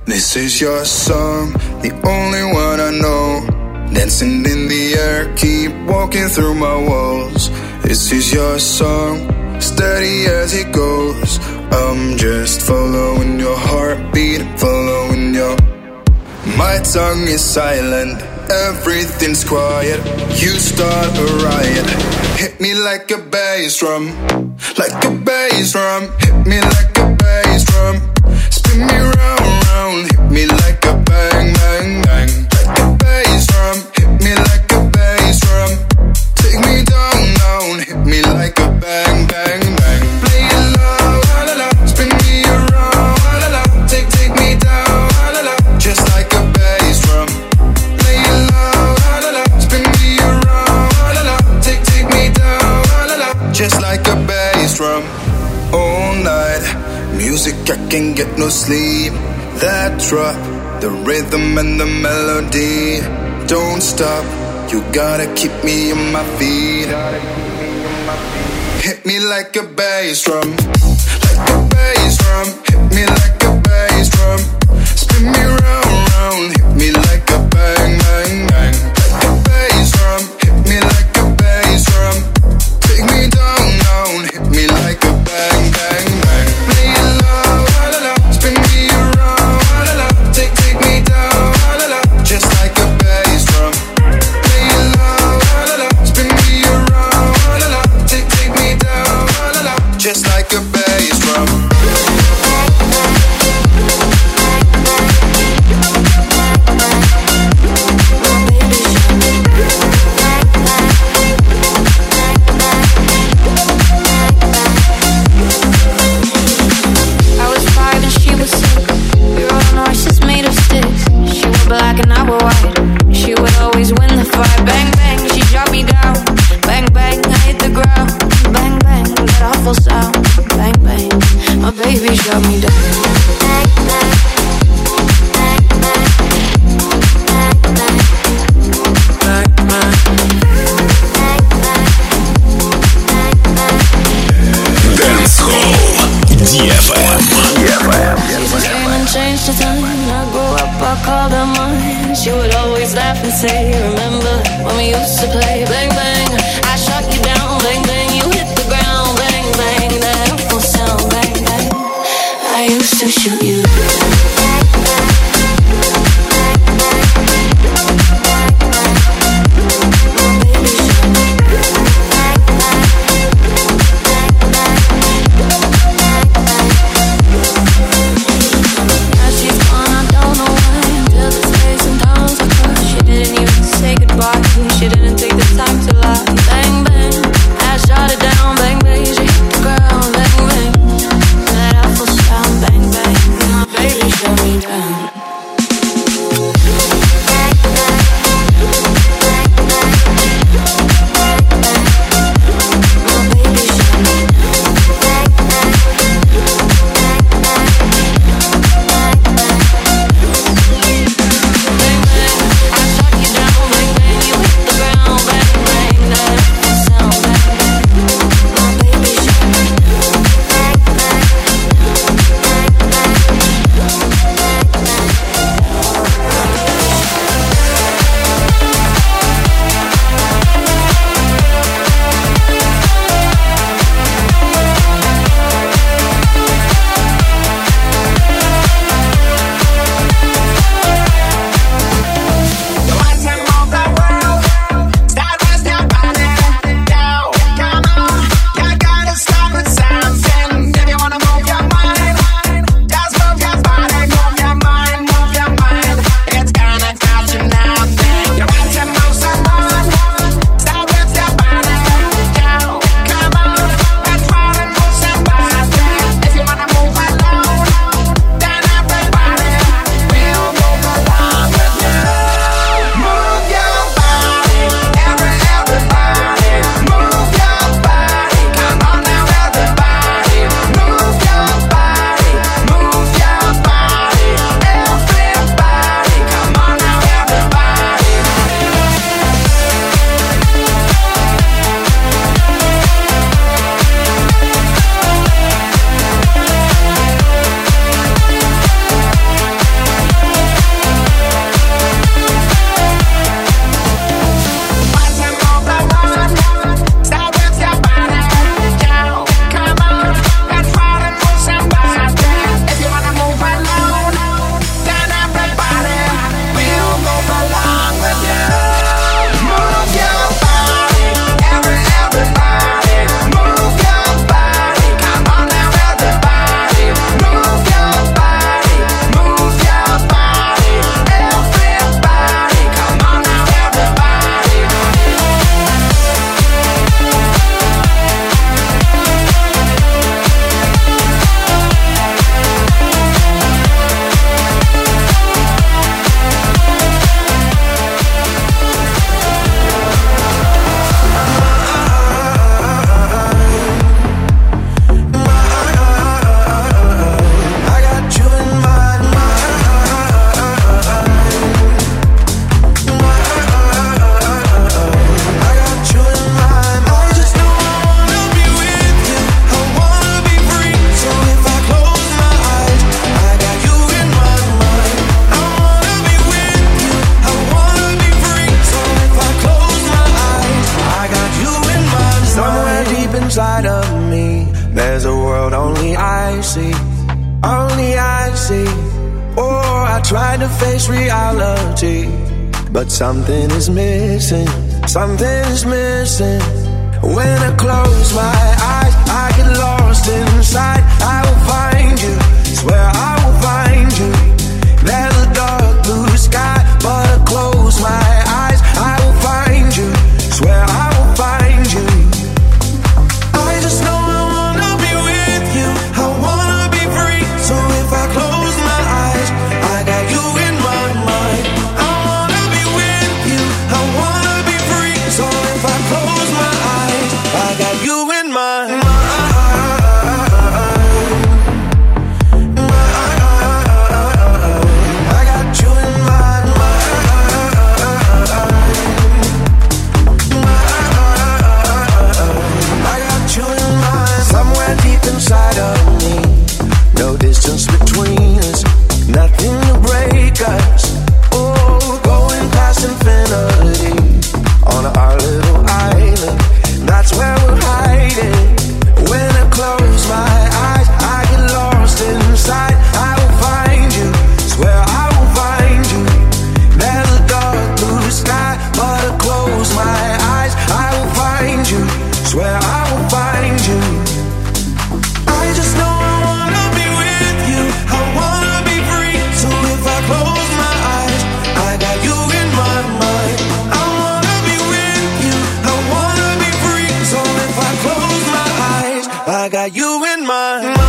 This is your song, the only one I know. Dancing in the air, keep walking through my walls. This is your song, steady as it goes. I'm just following your heartbeat, following your... My tongue is silent, everything's quiet. You start a riot. Hit me like a bass drum, like a bass drum. Hit me like a bass drum. Spin me round, round. Hit me like a bang, bang, bang. Like a bass drum. Hit me like a bass drum. Take me down, down. Hit me like a bang, bang, bang. Play it low, la la la. Spin me around, la la la. Take, take me down, la la la. Just like a bass drum. Play it low, la la la. Spin me around, la la la. Take, take me down, la la la. Just like a bass drum. All night, music, I can't get no sleep. That drop, the rhythm and the melody. Don't stop, you gotta keep me on my feet. Hit me like a bass drum, like a bass drum. Hit me like a bass drum. Spin me round, round. Hit me like a bang, bang, bang. Like a bass drum. Hit me like a bass drum. Take me down, down. Hit me like a bang, bang, bang. Play it low, la la la. Spin me around, la la la. Take, take me down, la la la. Just like a bass drum. Play it low, la la la. Spin me around, la la la. Take, take me down, la la la. Just like a bass drum. Black and I were white. She would always win the fight. Bang, bang, she shot me down. Bang, bang, I hit the ground. Bang, bang, that awful sound. Bang, bang, my baby shot me down. Bang, bang, bang, bang, bang, bang, bang. Dance Hall ди эф эм. She came and changed the time. I grew up, I called her mine. She would always laugh and say, remember when we used to play? Bang, bang, I shot you down. Bang, bang, you hit the ground. Bang, bang, that awful sound. Bang, bang, I used to shoot you. She didn't take the time to lie. Bang, bang, I shot it down. Bang, bang, she hit the ground. Bang, bang, that awful sound. Bang, bang, inside of me. There's a world only I see, only I see. Oh, I tried to face reality, but something is missing, something is missing. When I close my eyes, I get lost inside. I will find you, swear I will find you. There's a dark blue sky, but I close my eyes, I will find you, swear I will find you. I just know I wanna be with you, I wanna be free. So if I close my eyes, I got you in my mind. I wanna be with you, I wanna be free. So if I close my eyes, I got you in my mind. Inside of me, no distance between us, nothing to break us. Oh, going past infinity on our little island, that's where we're hiding. When I close my eyes, I get lost inside. I will find you, swear I will find you. There's a dark blue sky, but I close my eyes, I will find you, swear I will find you. I just know I wanna be with you, I wanna be free. So if I close my eyes, I got you in my mind. I wanna be with you, I wanna be free. So if I close my eyes, I got you in my mind.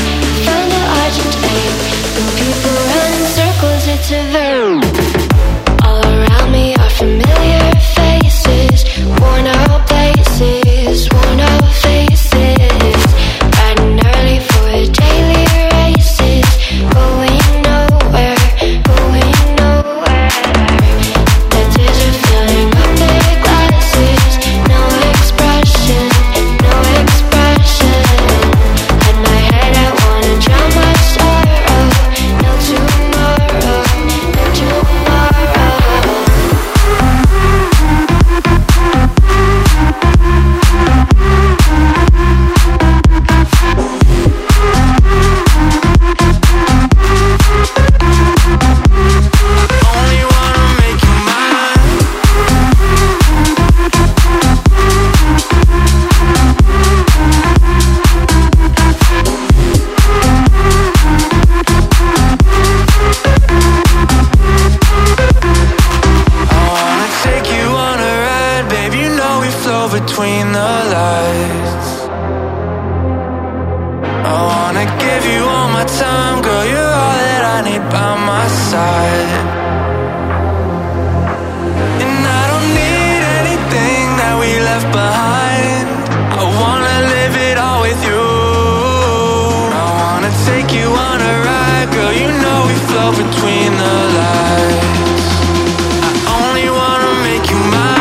It's a verb. between the lights. I wanna give you all my time, girl, you're all that I need by my side. And I don't need anything that we left behind. I wanna live it all with you. I wanna take you on a ride, girl, you know we flow between the lights. I only wanna make you mine.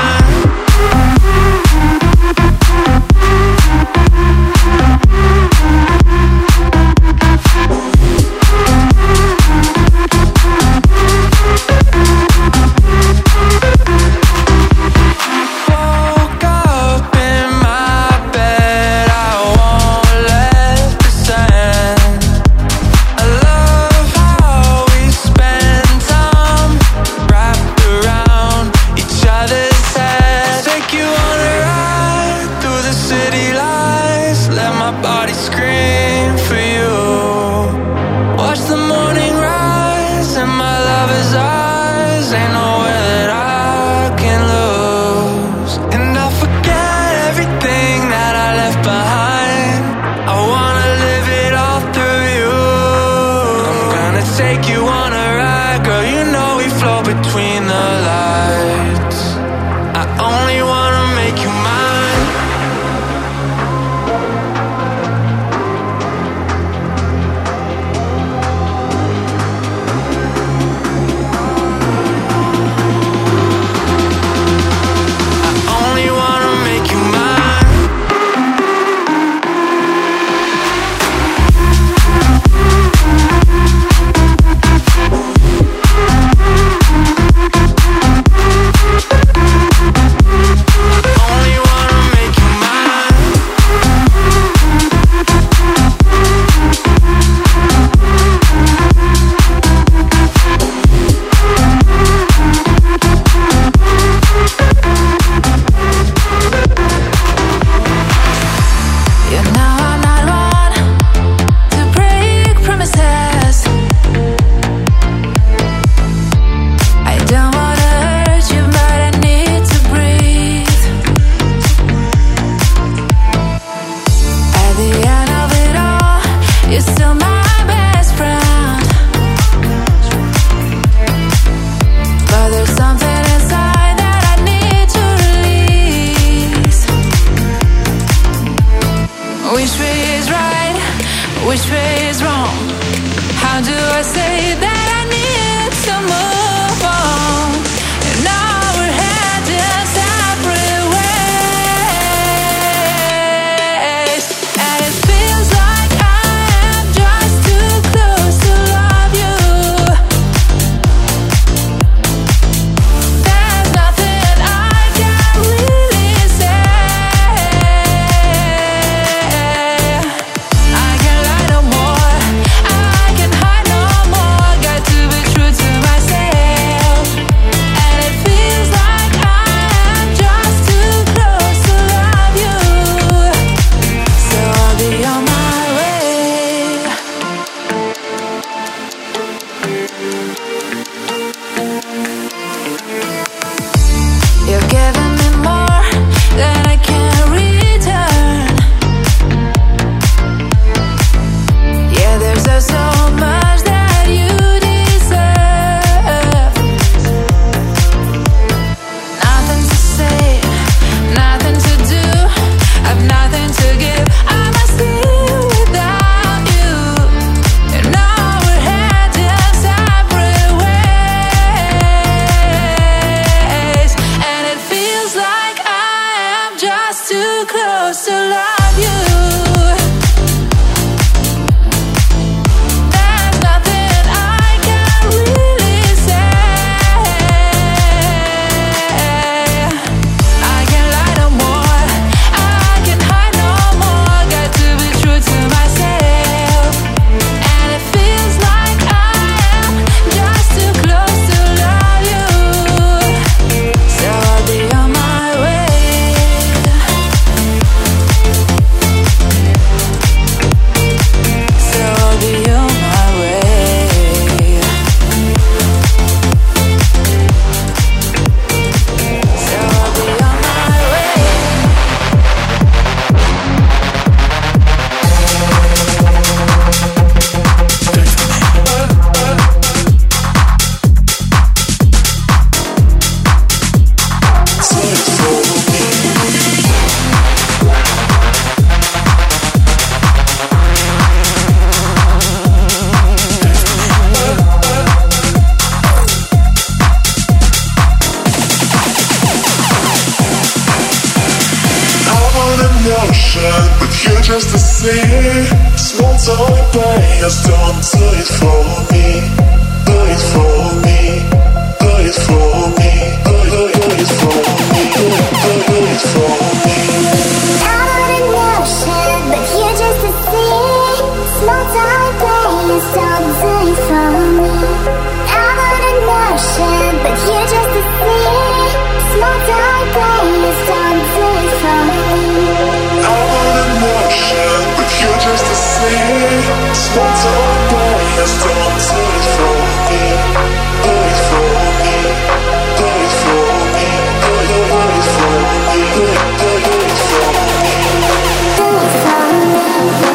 emotion, but you're just the same. Small town players don't do it for me. Do it for me. Do it for me. Do it, do it, do it for me. Do it, do it, do it for me. I'm on emotion, but you're just the same. Small town players don't do it for me. I'm on emotion, but you're just the same. Small town players don't do it for me. I'm on emotion, but you're just the same. Small town players don't do it for me. Do it for me. Do it for me. Do it, do it for me. Do it, do it, do it for me. Do it for me.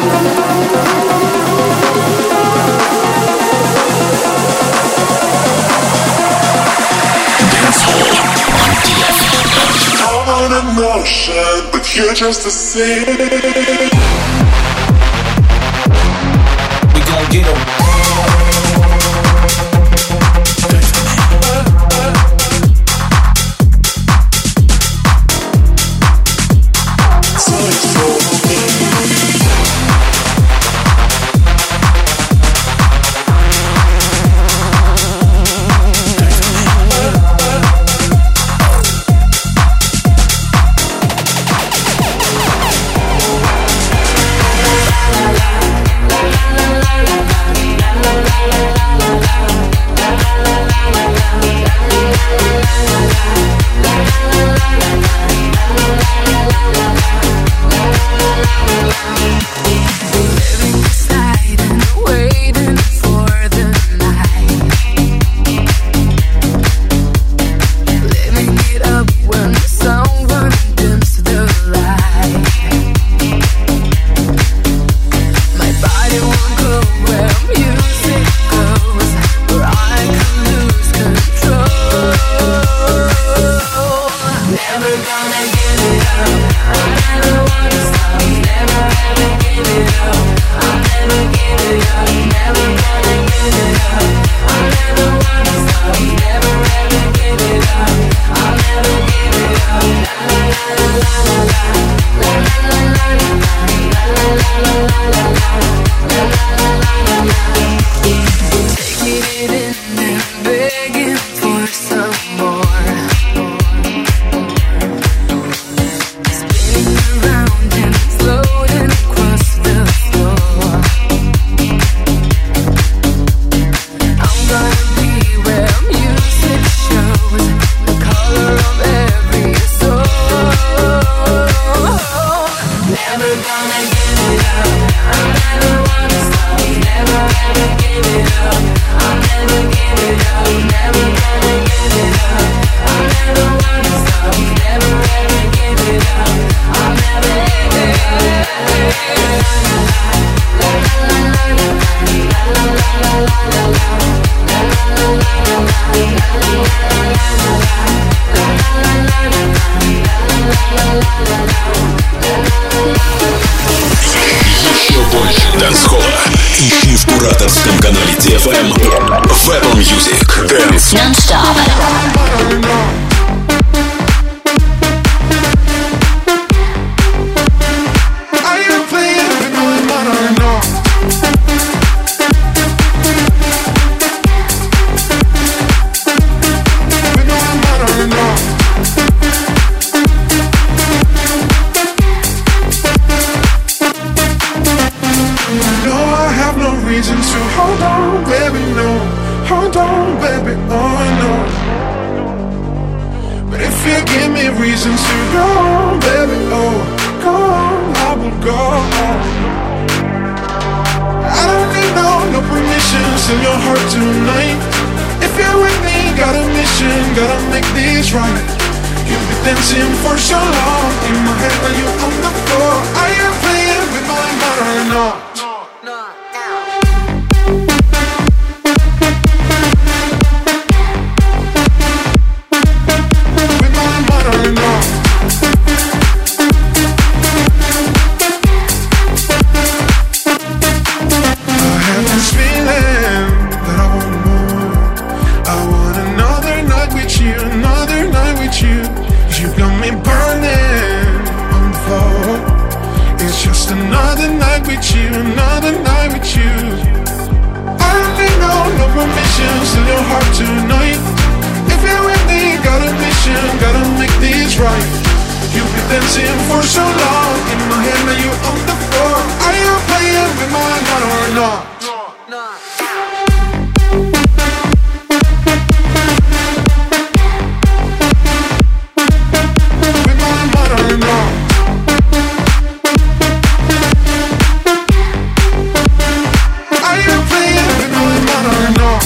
I'm on emotion, but you're just the same. We gon' get 'em. В Apple Music Dance Non-stop. You got me burning on the floor. dancing for so long. In my head, now you on the floor. Are you playing with my heart or not? With my heart or not? Are you playing with my heart or not?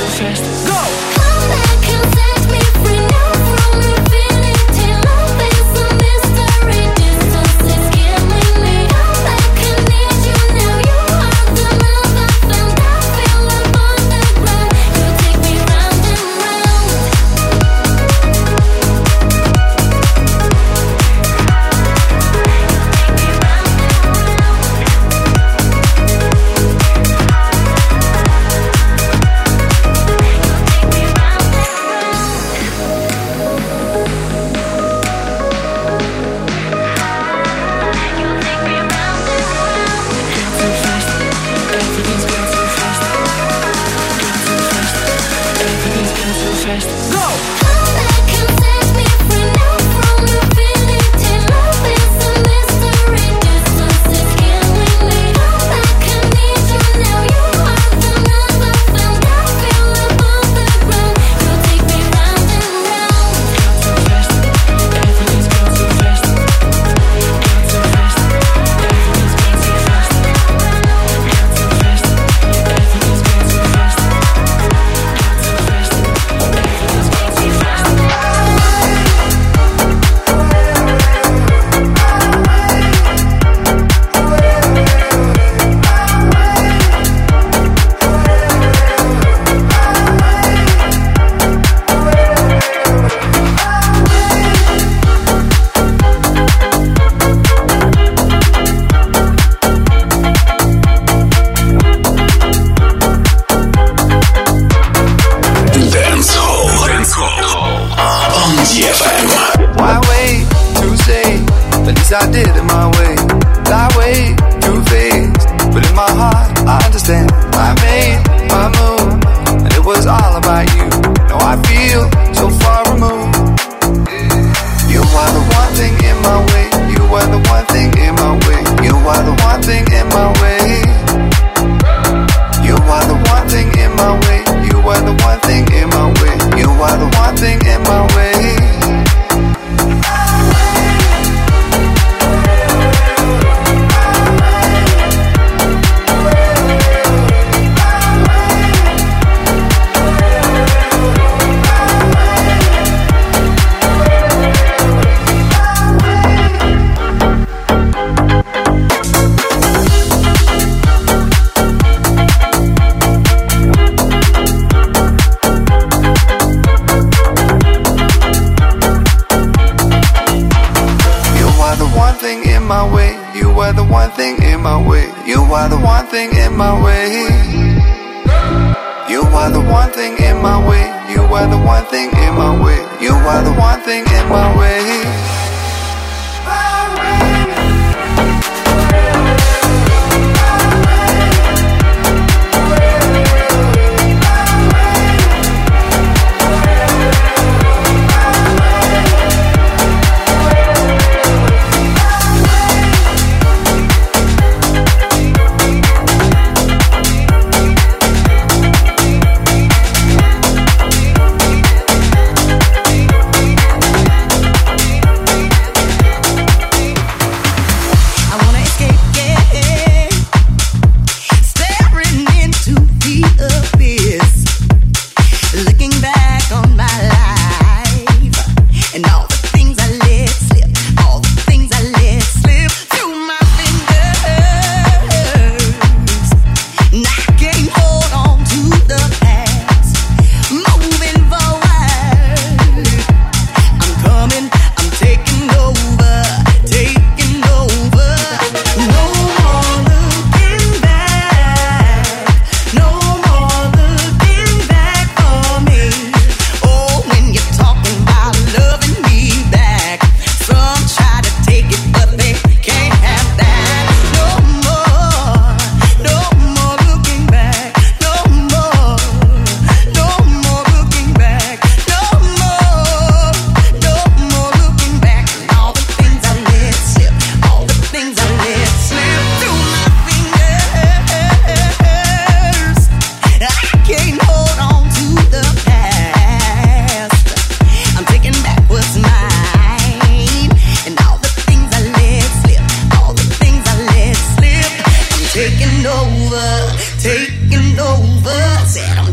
fast. Go! Come back and set me free now from infinity. Love is a mystery. Distance is killing me. Come back and need you now. You are the love I found. I feel above the ground. You take me round and round. Go! Come back and set me free now from infinity. Love is a mystery. Distance is killing me. Come back and need you now. You are the love I found. I feel above the ground. You take me round and round. Everything's gone too fast. Gone too fast. Everything's gone too fast. Gone too fast. Everything's gone too fast. Gone too fast. Everything's gone too fast. Dance Hall. Dance Hall. On ди эф эм. Why wait to say? At least I did it my way. I wait through phase, but in my heart I understand. I made my move, and it was all about you. Now I feel so far removed. You are the one thing in my way. You are the one thing in my way. You are the one thing in my way. You are the one thing in my way. You are the one thing in my way. You are the one thing in my way. Thing in my way. You are the one thing in my way. You are the one thing in my way. You are the one thing in my way. You are the one thing in my way. You are the one thing in my way.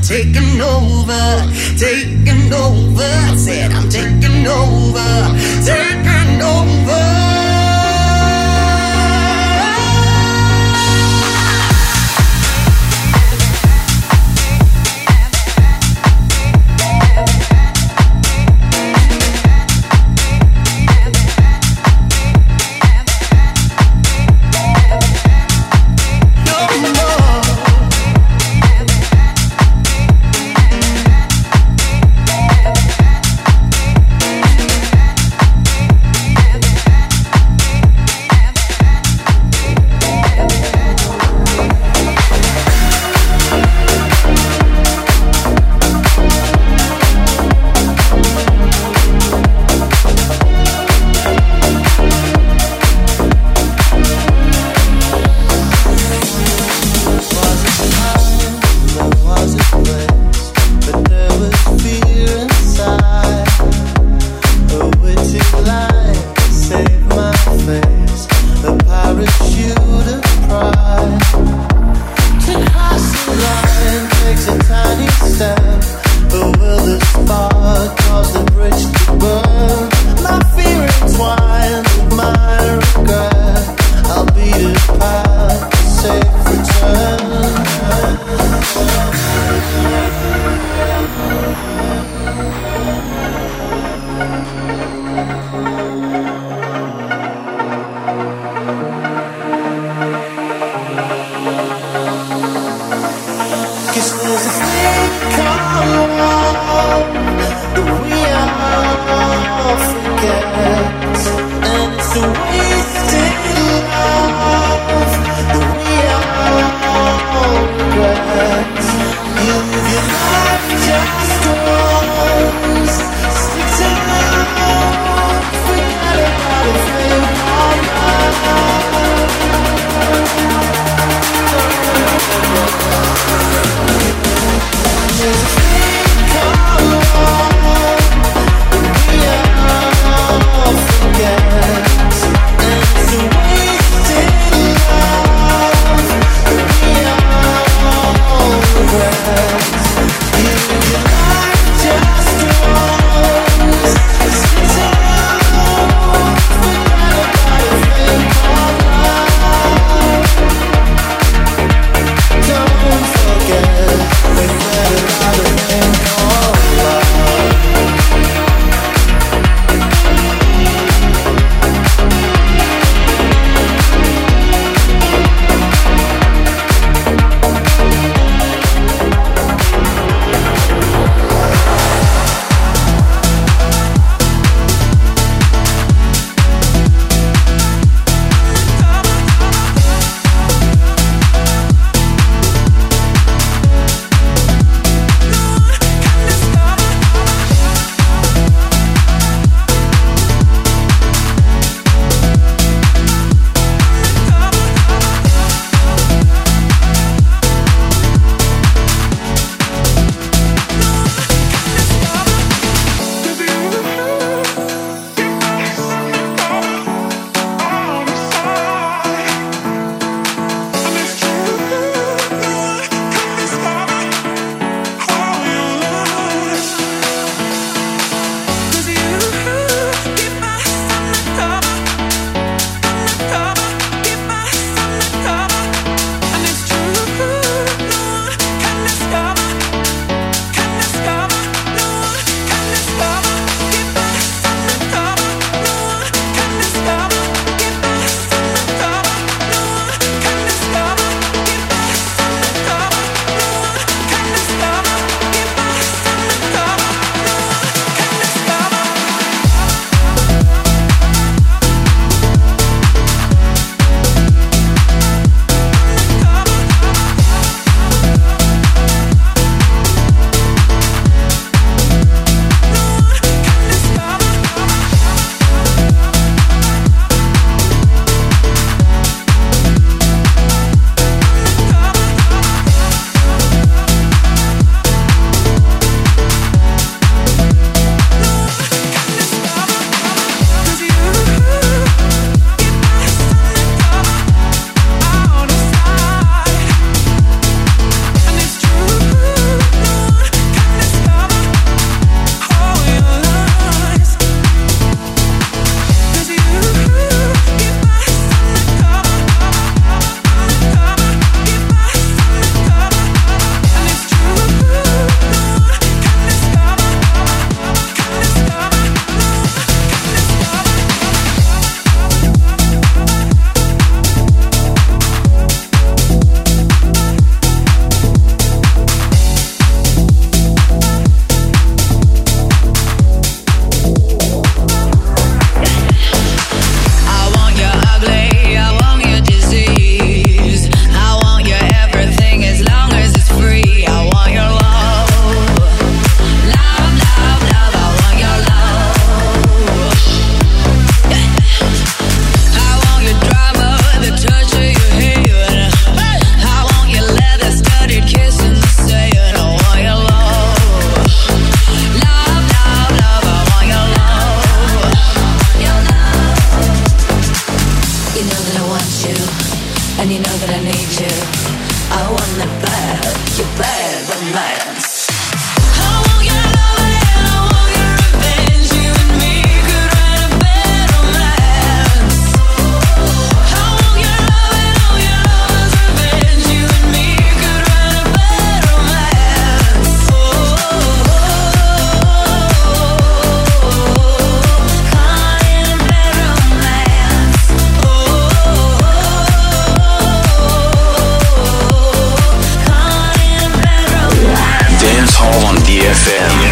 taking over, taking over. I said I'm taking over, taking over. romance. эф эм.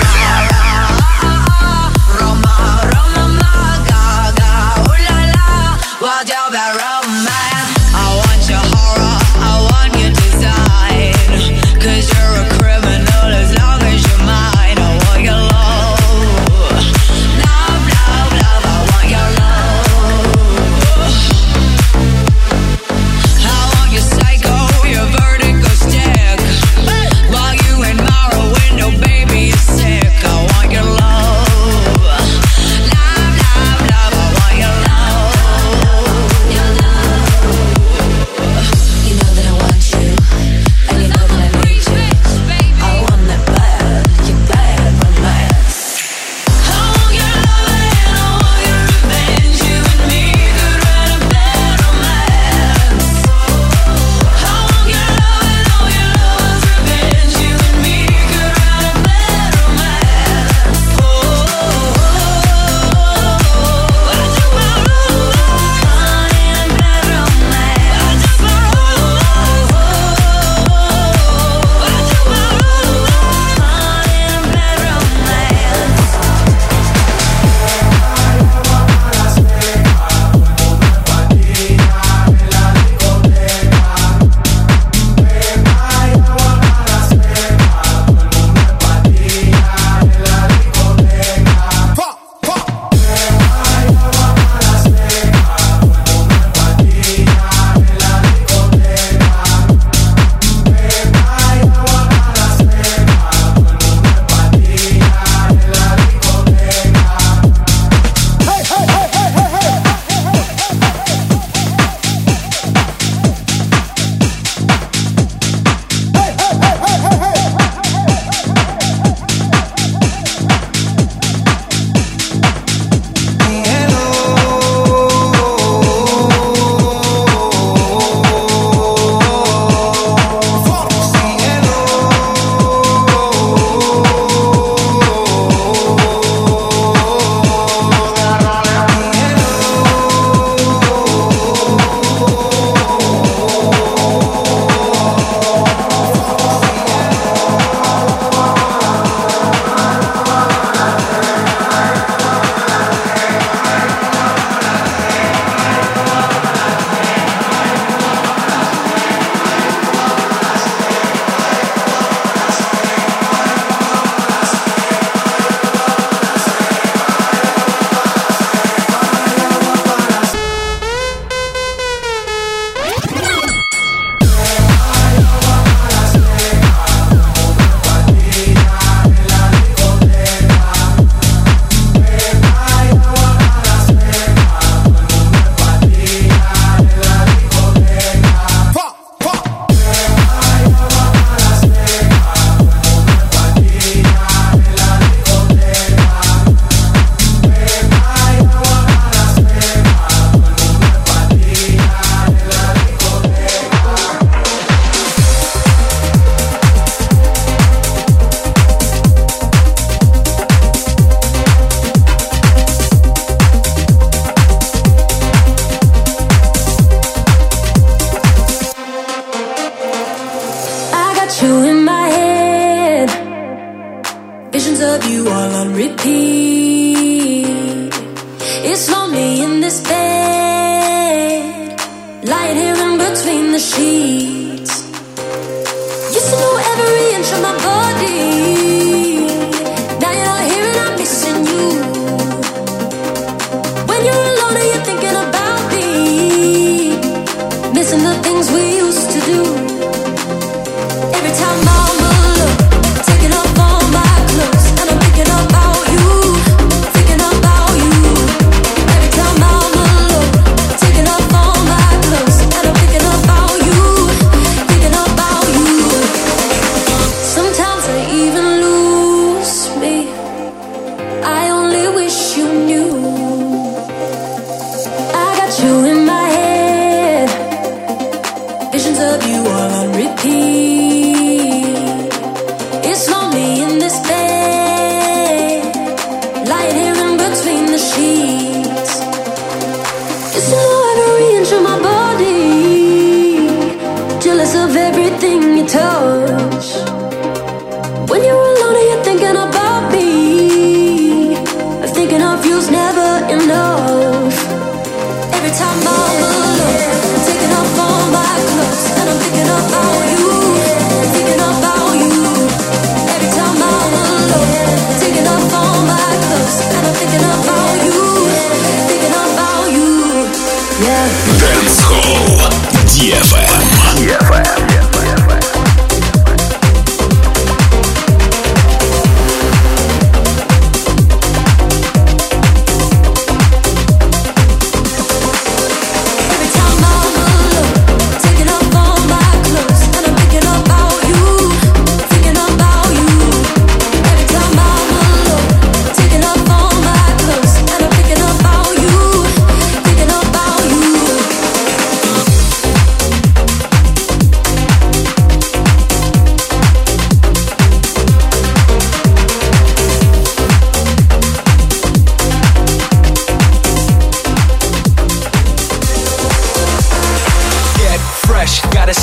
Taking off all my clothes and I'm thinking about you.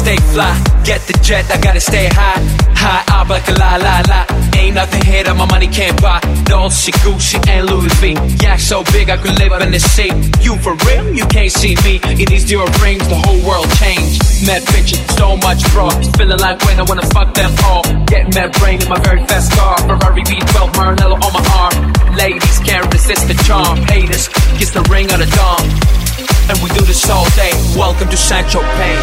stay fly. Get the jet, I gotta stay high. High up like a la la la. Ain't nothing here that my money can't buy. Dolce, Gucci, and Louis V. Yeah, so big I could live in the sea. You for real? You can't see me. In these zero rings, the whole world changed. Mad bitches, so much fraud. Feeling like when I wanna fuck them all. Get mad brain in my very fast car. Ferrari V twelve, Maranello on my arm. Ladies can't resist the charm. Haters, kiss the ring of the dawn. And we do this all day. Welcome to Saint-Tropez.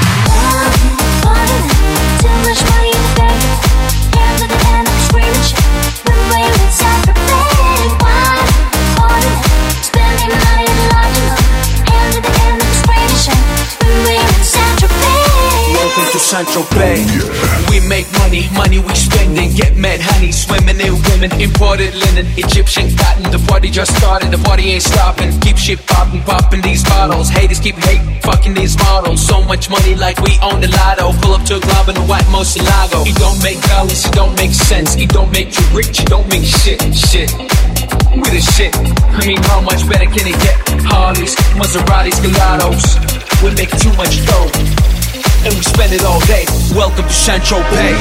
Too much money in the bank. Hands at the end, I'm screaming shit. When we're in Saint-Tropez, wine, party, spending money in large enough. Hands at the end, I'm screaming shit. When we're in Saint-Tropez. Welcome to Saint-Tropez. We make money, money we spending. Get mad honey, swimming in women. Imported linen, Egyptian cotton. The party just started, the party ain't stopping. Keep shit popping, popping these bottles. Haters keep hating, fucking these models. So much money like we own the lotto. Pull up to a club in a white Moselago. It don't make dollars, it don't make sense. It don't make you rich, it don't make shit, shit. We the shit. I mean, how much better can it get? Harleys, Maseratis, Gelatos. We make too much dough, and we spend it all day. Welcome to Saint-Tropez.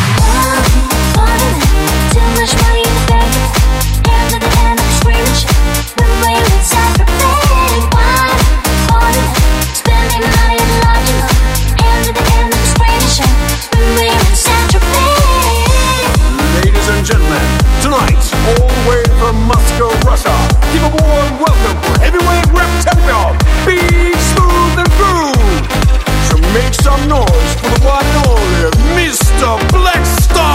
Too much money in the bank. Hands at the end, I'm screaming shit. When we're in Saint-Tropez, wine, party, spending money in large enough. Hands at the end, I'm screaming shit. When we're in Saint-Tropez. Ladies and gentlemen, tonight, all the way from Moscow, Russia, give a warm welcome for heavyweight rap champion, Big Smooth and Groove. So make some noise for the one and only Mister Blackstar.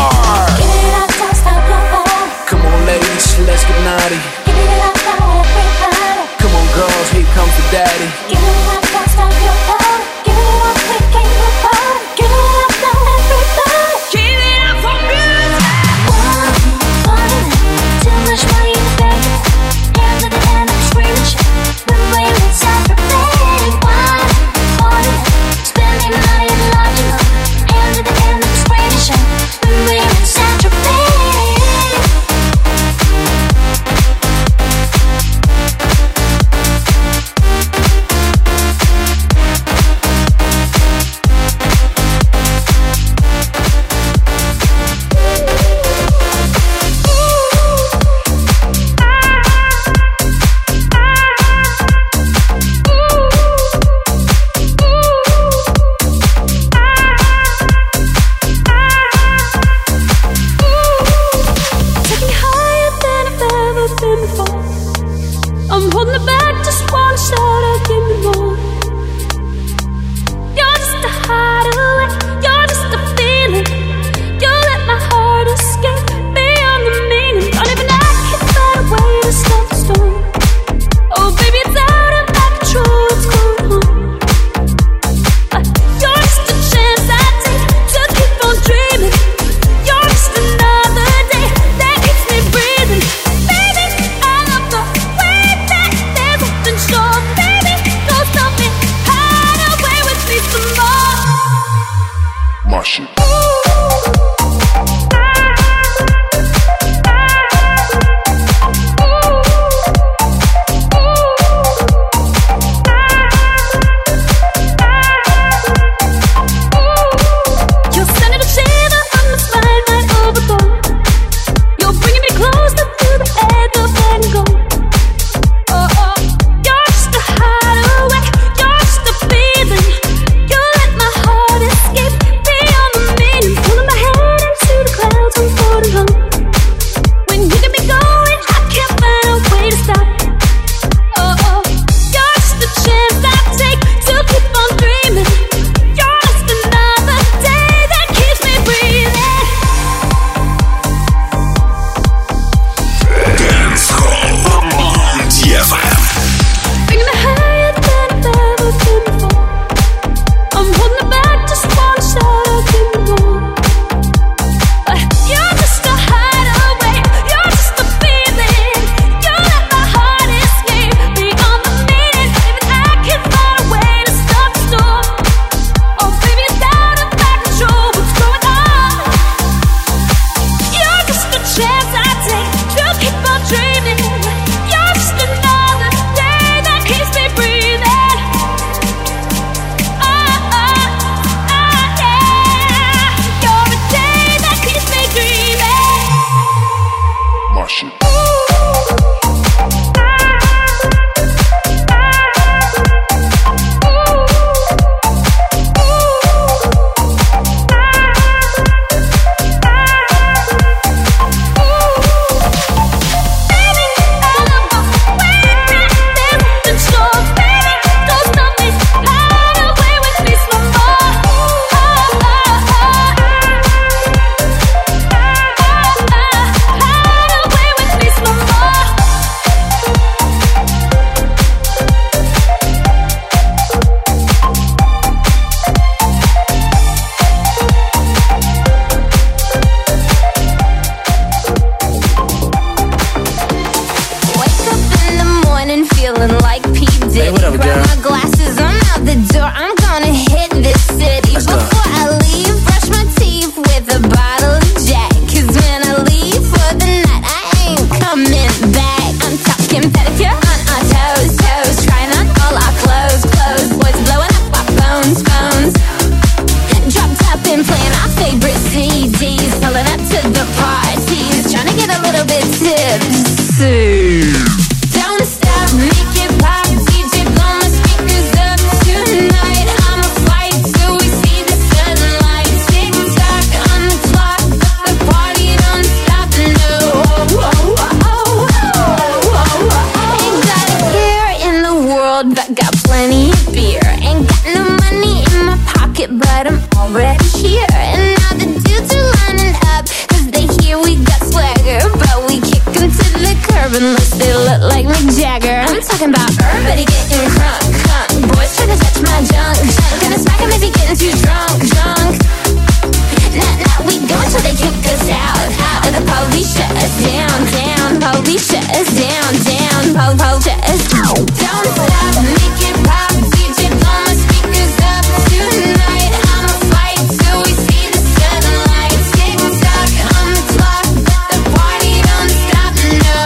unless they look like Mick Jagger. I'm talking about everybody getting crunk, crunk. Boys trying to touch my junk, junk. Gonna smack him if he getting too drunk, drunk. Nah, nah, we go until they kick us out, out. And the police shut us down, down. Police shut us down, down. Pol, pol, shut us down. Don't stop, make it pop. D J blow my speakers up tonight. I'ma fight till we see the sunlight. Tick tock on the clock, the party don't stop, no.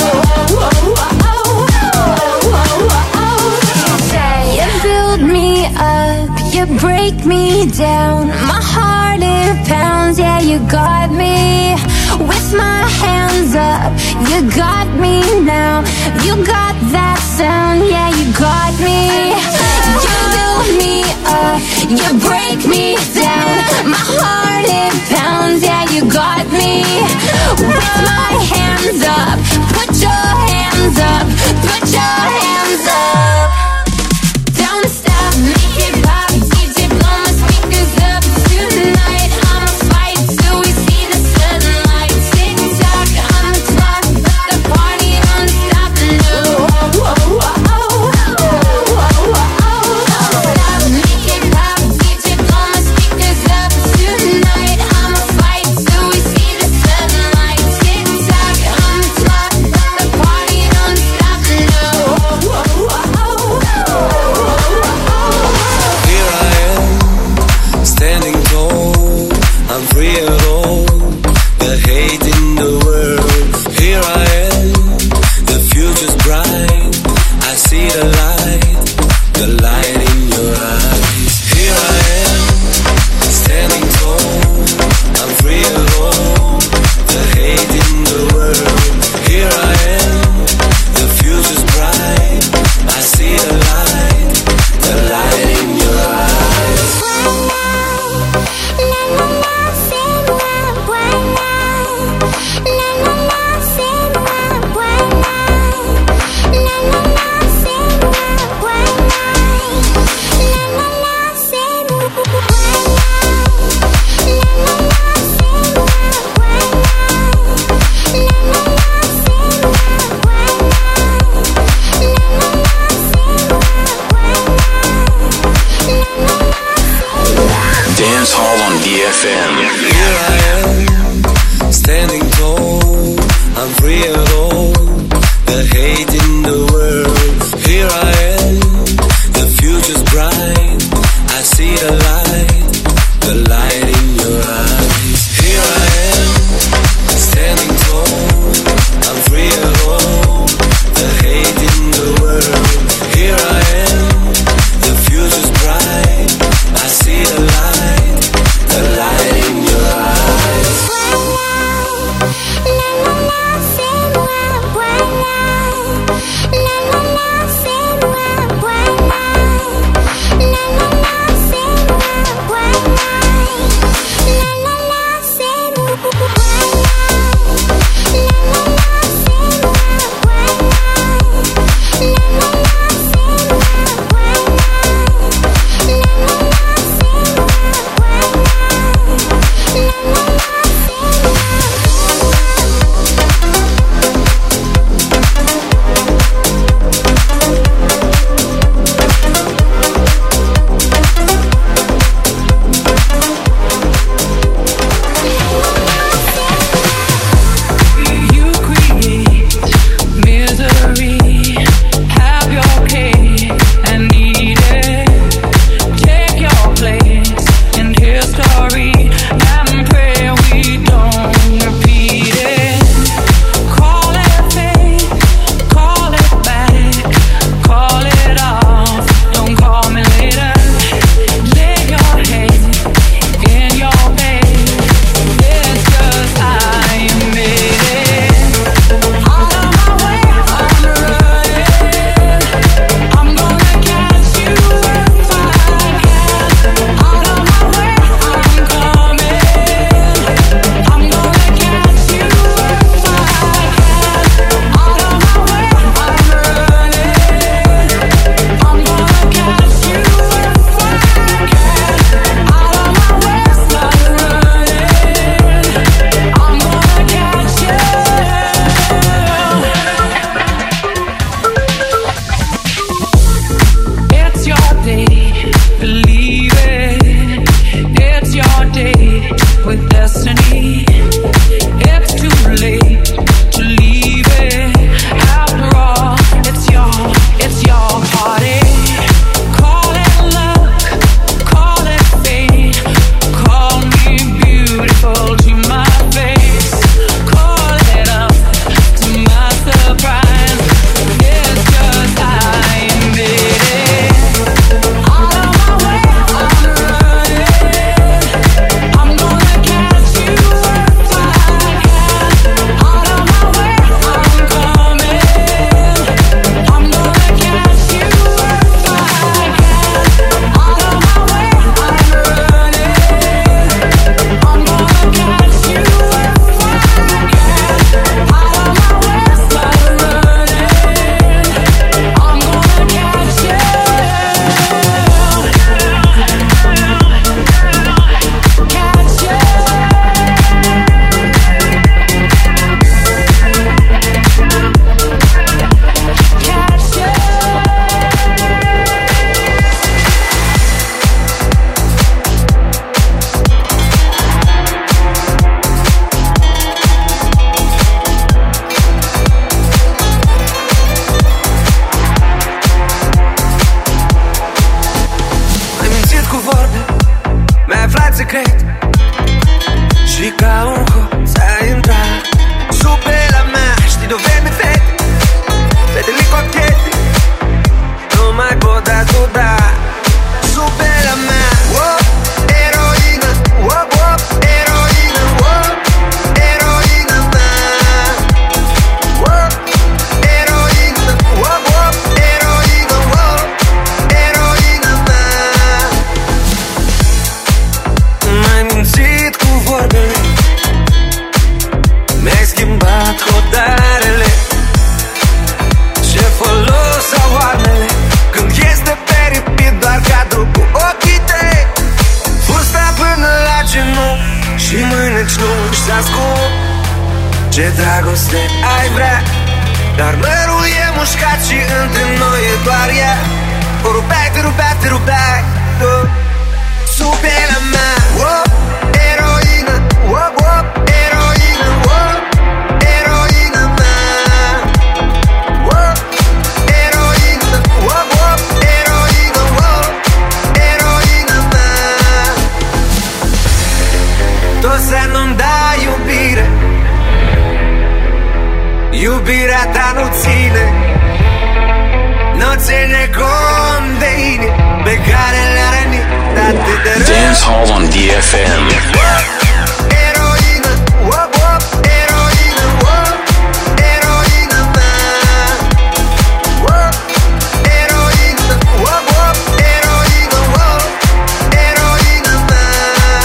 You build me up, you break me down. My heart it pounds, yeah, you got me. With my hands up, you got me now. You got that sound, yeah, you got me. You build me up, you break me down. My heart it pounds, yeah, you got me. With my hands up, put your hands up, put your hands up. Don't stop, make it pop. D J blow my speakers up tonight. I'ma fight till we see the sunlight. Tick tock on the clock, the party don't stop, no. Don't stop, make it pop. D J blow my speakers up tonight. I'ma fight till we see the sunlight. Tick tock on the clock, the party don't stop, no. Here I am, standing tall. I'm free at all. The hate in the world. Here I am, the future's bright. I see the light, the light in your eyes. Here I am, standing tall. I'm free at all. The hate in the world. Here I am, the future's bright. I see the light, the light in your eyes. Dance Hall on D F M. Here I am, standing tall. I'm free at all. The hate in the world. Here I am, the future's bright. I see the light, the light in your eyes. Here I am, standing tall. I'm free at all. The hate in the world. Here I am, the future's bright. I see the light, the light in your eyes. Ce dragoste ai vrea, dar mărul e mușcat și între noi e doar ea. O rupeai, te rupeai, te rupeai tu sub pielea mea. Oh, eroină, oh, oh, eroină, oh, eroină mea. Oh, eroină, oh, oh, eroină, oh, eroină mea. Tot să nu-mi dai iubire, iubirea ta nu ține, nu ține cont de inimi pe care le-a rănit atât de rău. Dance Hall on D F M. Eroină, oh, oh, eroină, oh, eroină mea. Oh, eroină, oh, oh, eroină, oh, eroină mea.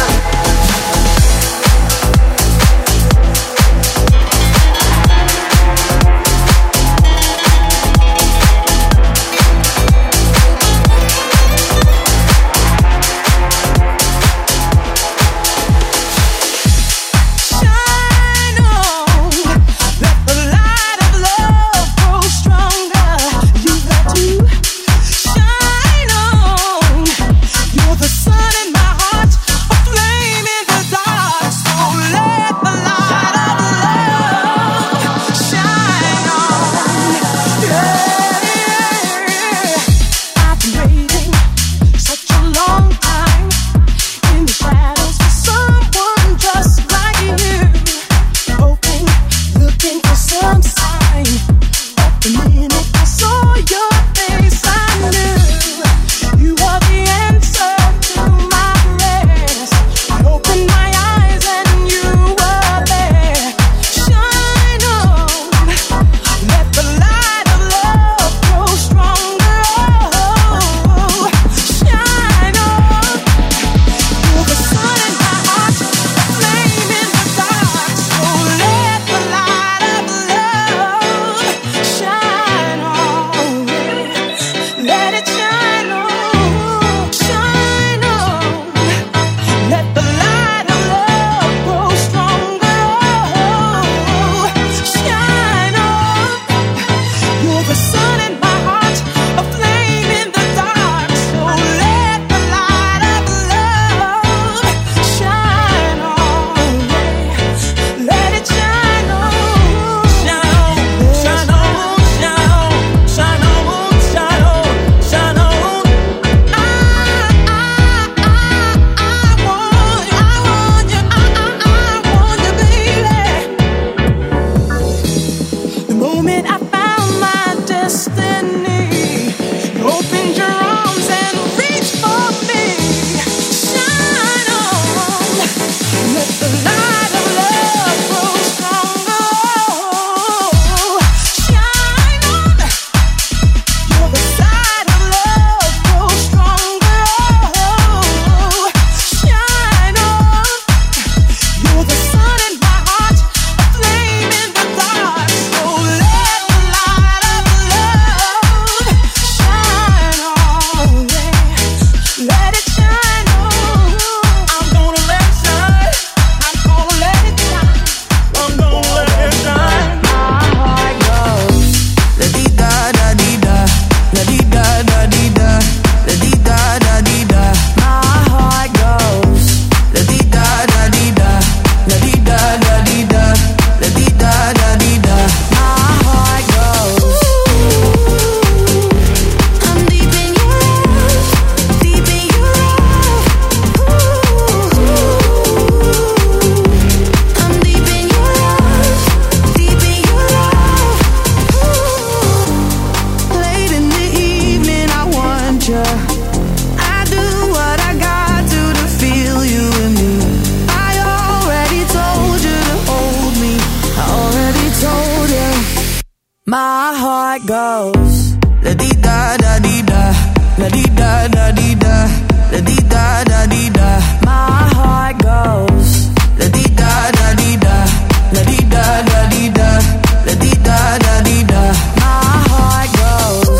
My heart goes la di da da di da, la di da da di da, la di da da di da. My heart goes la di da da di da, la di da da di da, la di da da di da. My heart goes.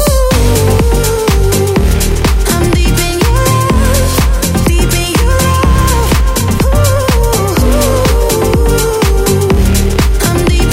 I'm deep in your love, deep in your love. Ooh, I'm deep.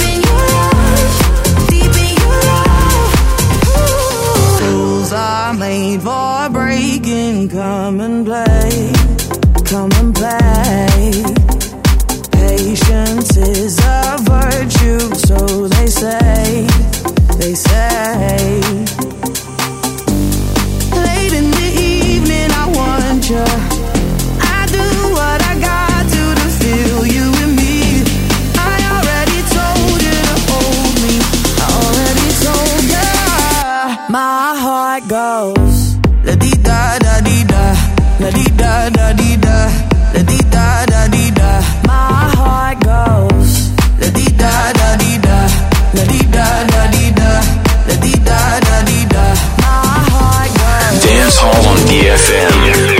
и эф эм.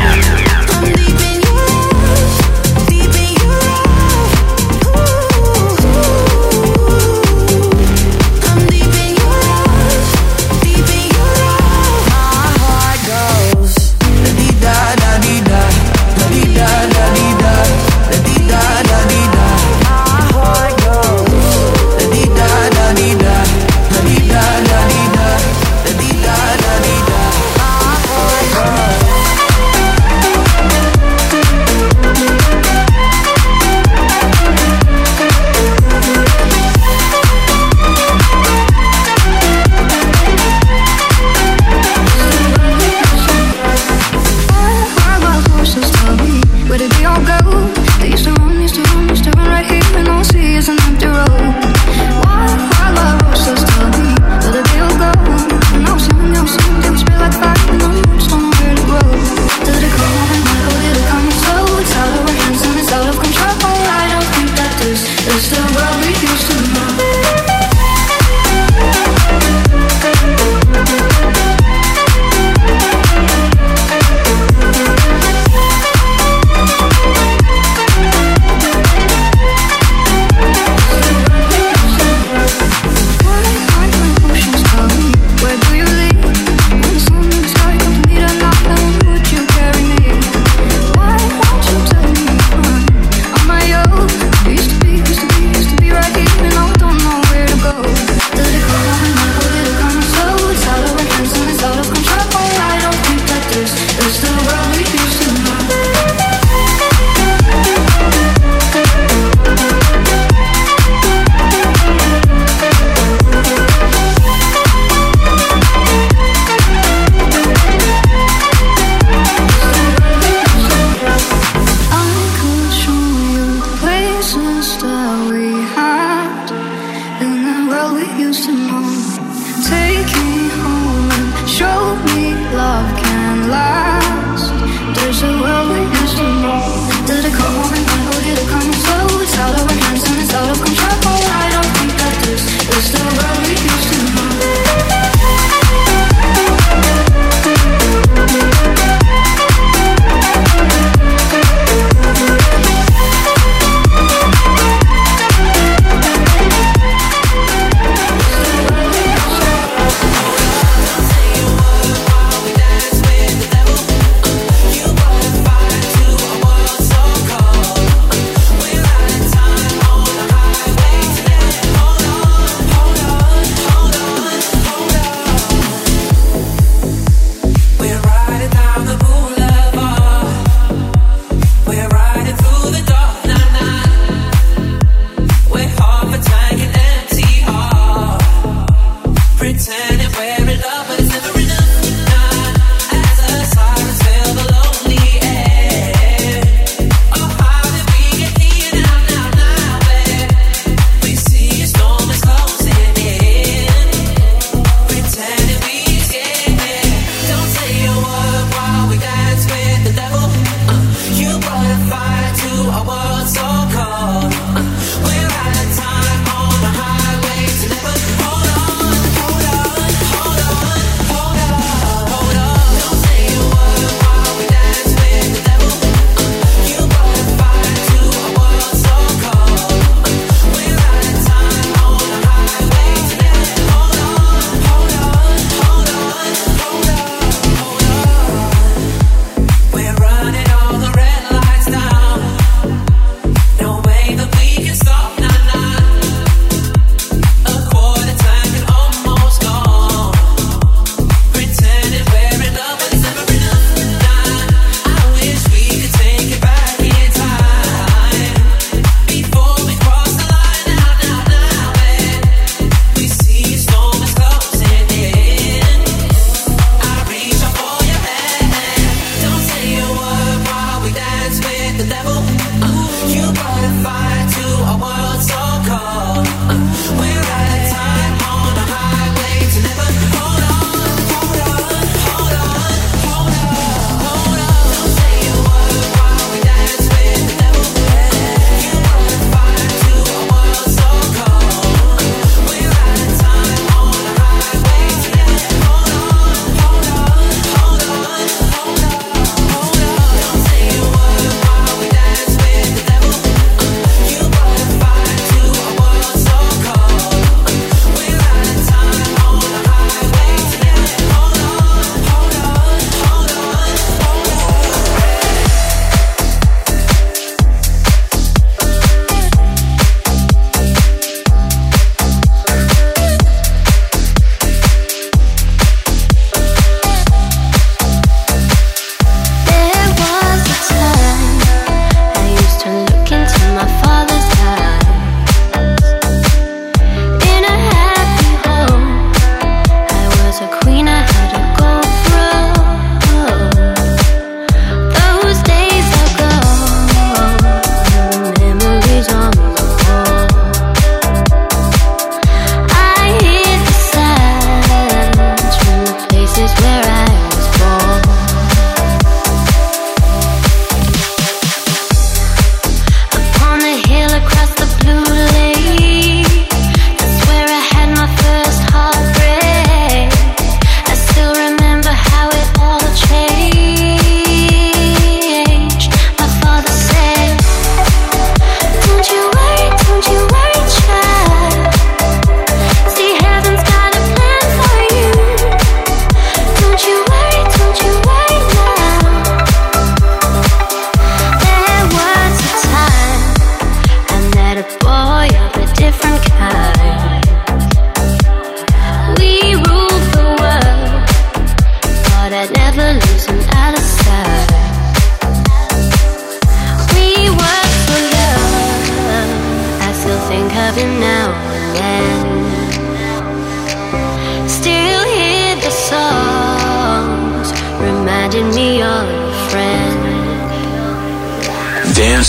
Devil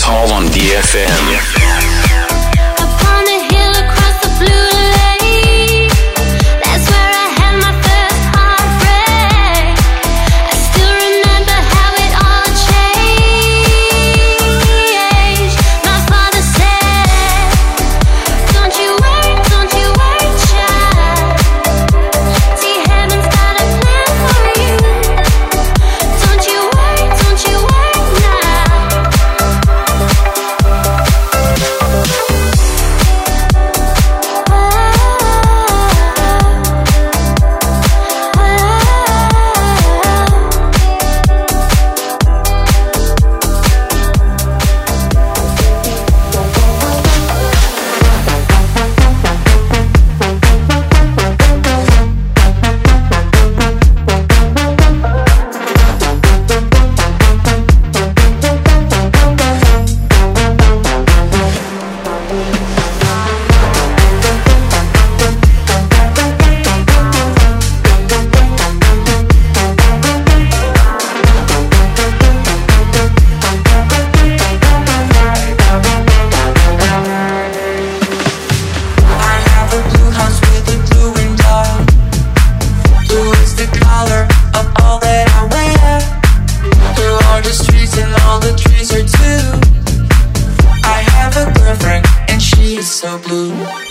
Hall on D F M. Upon a hill across the blue lake, that's where I had my first heartbreak. I still remember how it all changed. My father said, don't you worry, don't you worry, child. See, heaven's got a plan for you. Don't you worry, don't you worry now. I have a blue house with a blue window. Blue is the color of all that I wear. Blue are the streets and all the trees are too. I have a girlfriend and she is so blue.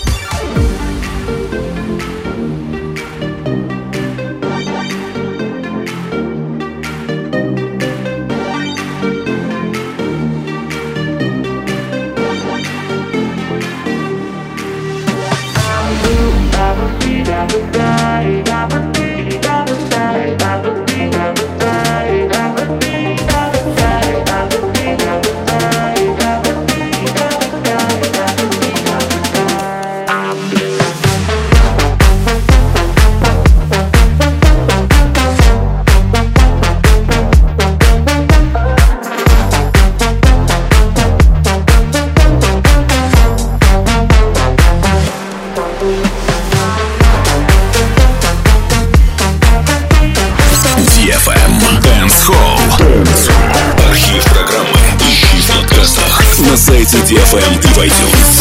ди эф эм Dance Hall. Архив программы ищи в подкастах на сайте ди эф эм и в iTunes.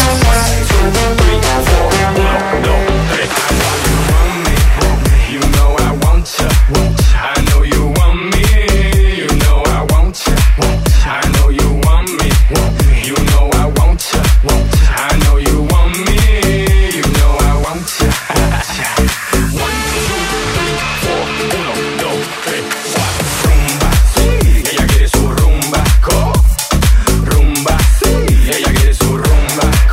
You know I want ya. I know you want me. You know I want ya. I know you want me. You know I want ya. I know you want me. You know I want ya. One, two, three, four. Uno, dos, tres, cuatro. Rumba, sí. Ella quiere su rumba. Co. Rumba, sí. Ella quiere su rumba.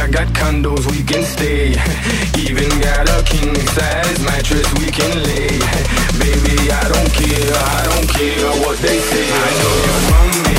I got condos we can stay. Even got a king size mattress we can lay. Baby, I don't care, I don't care what they say. I know you want me.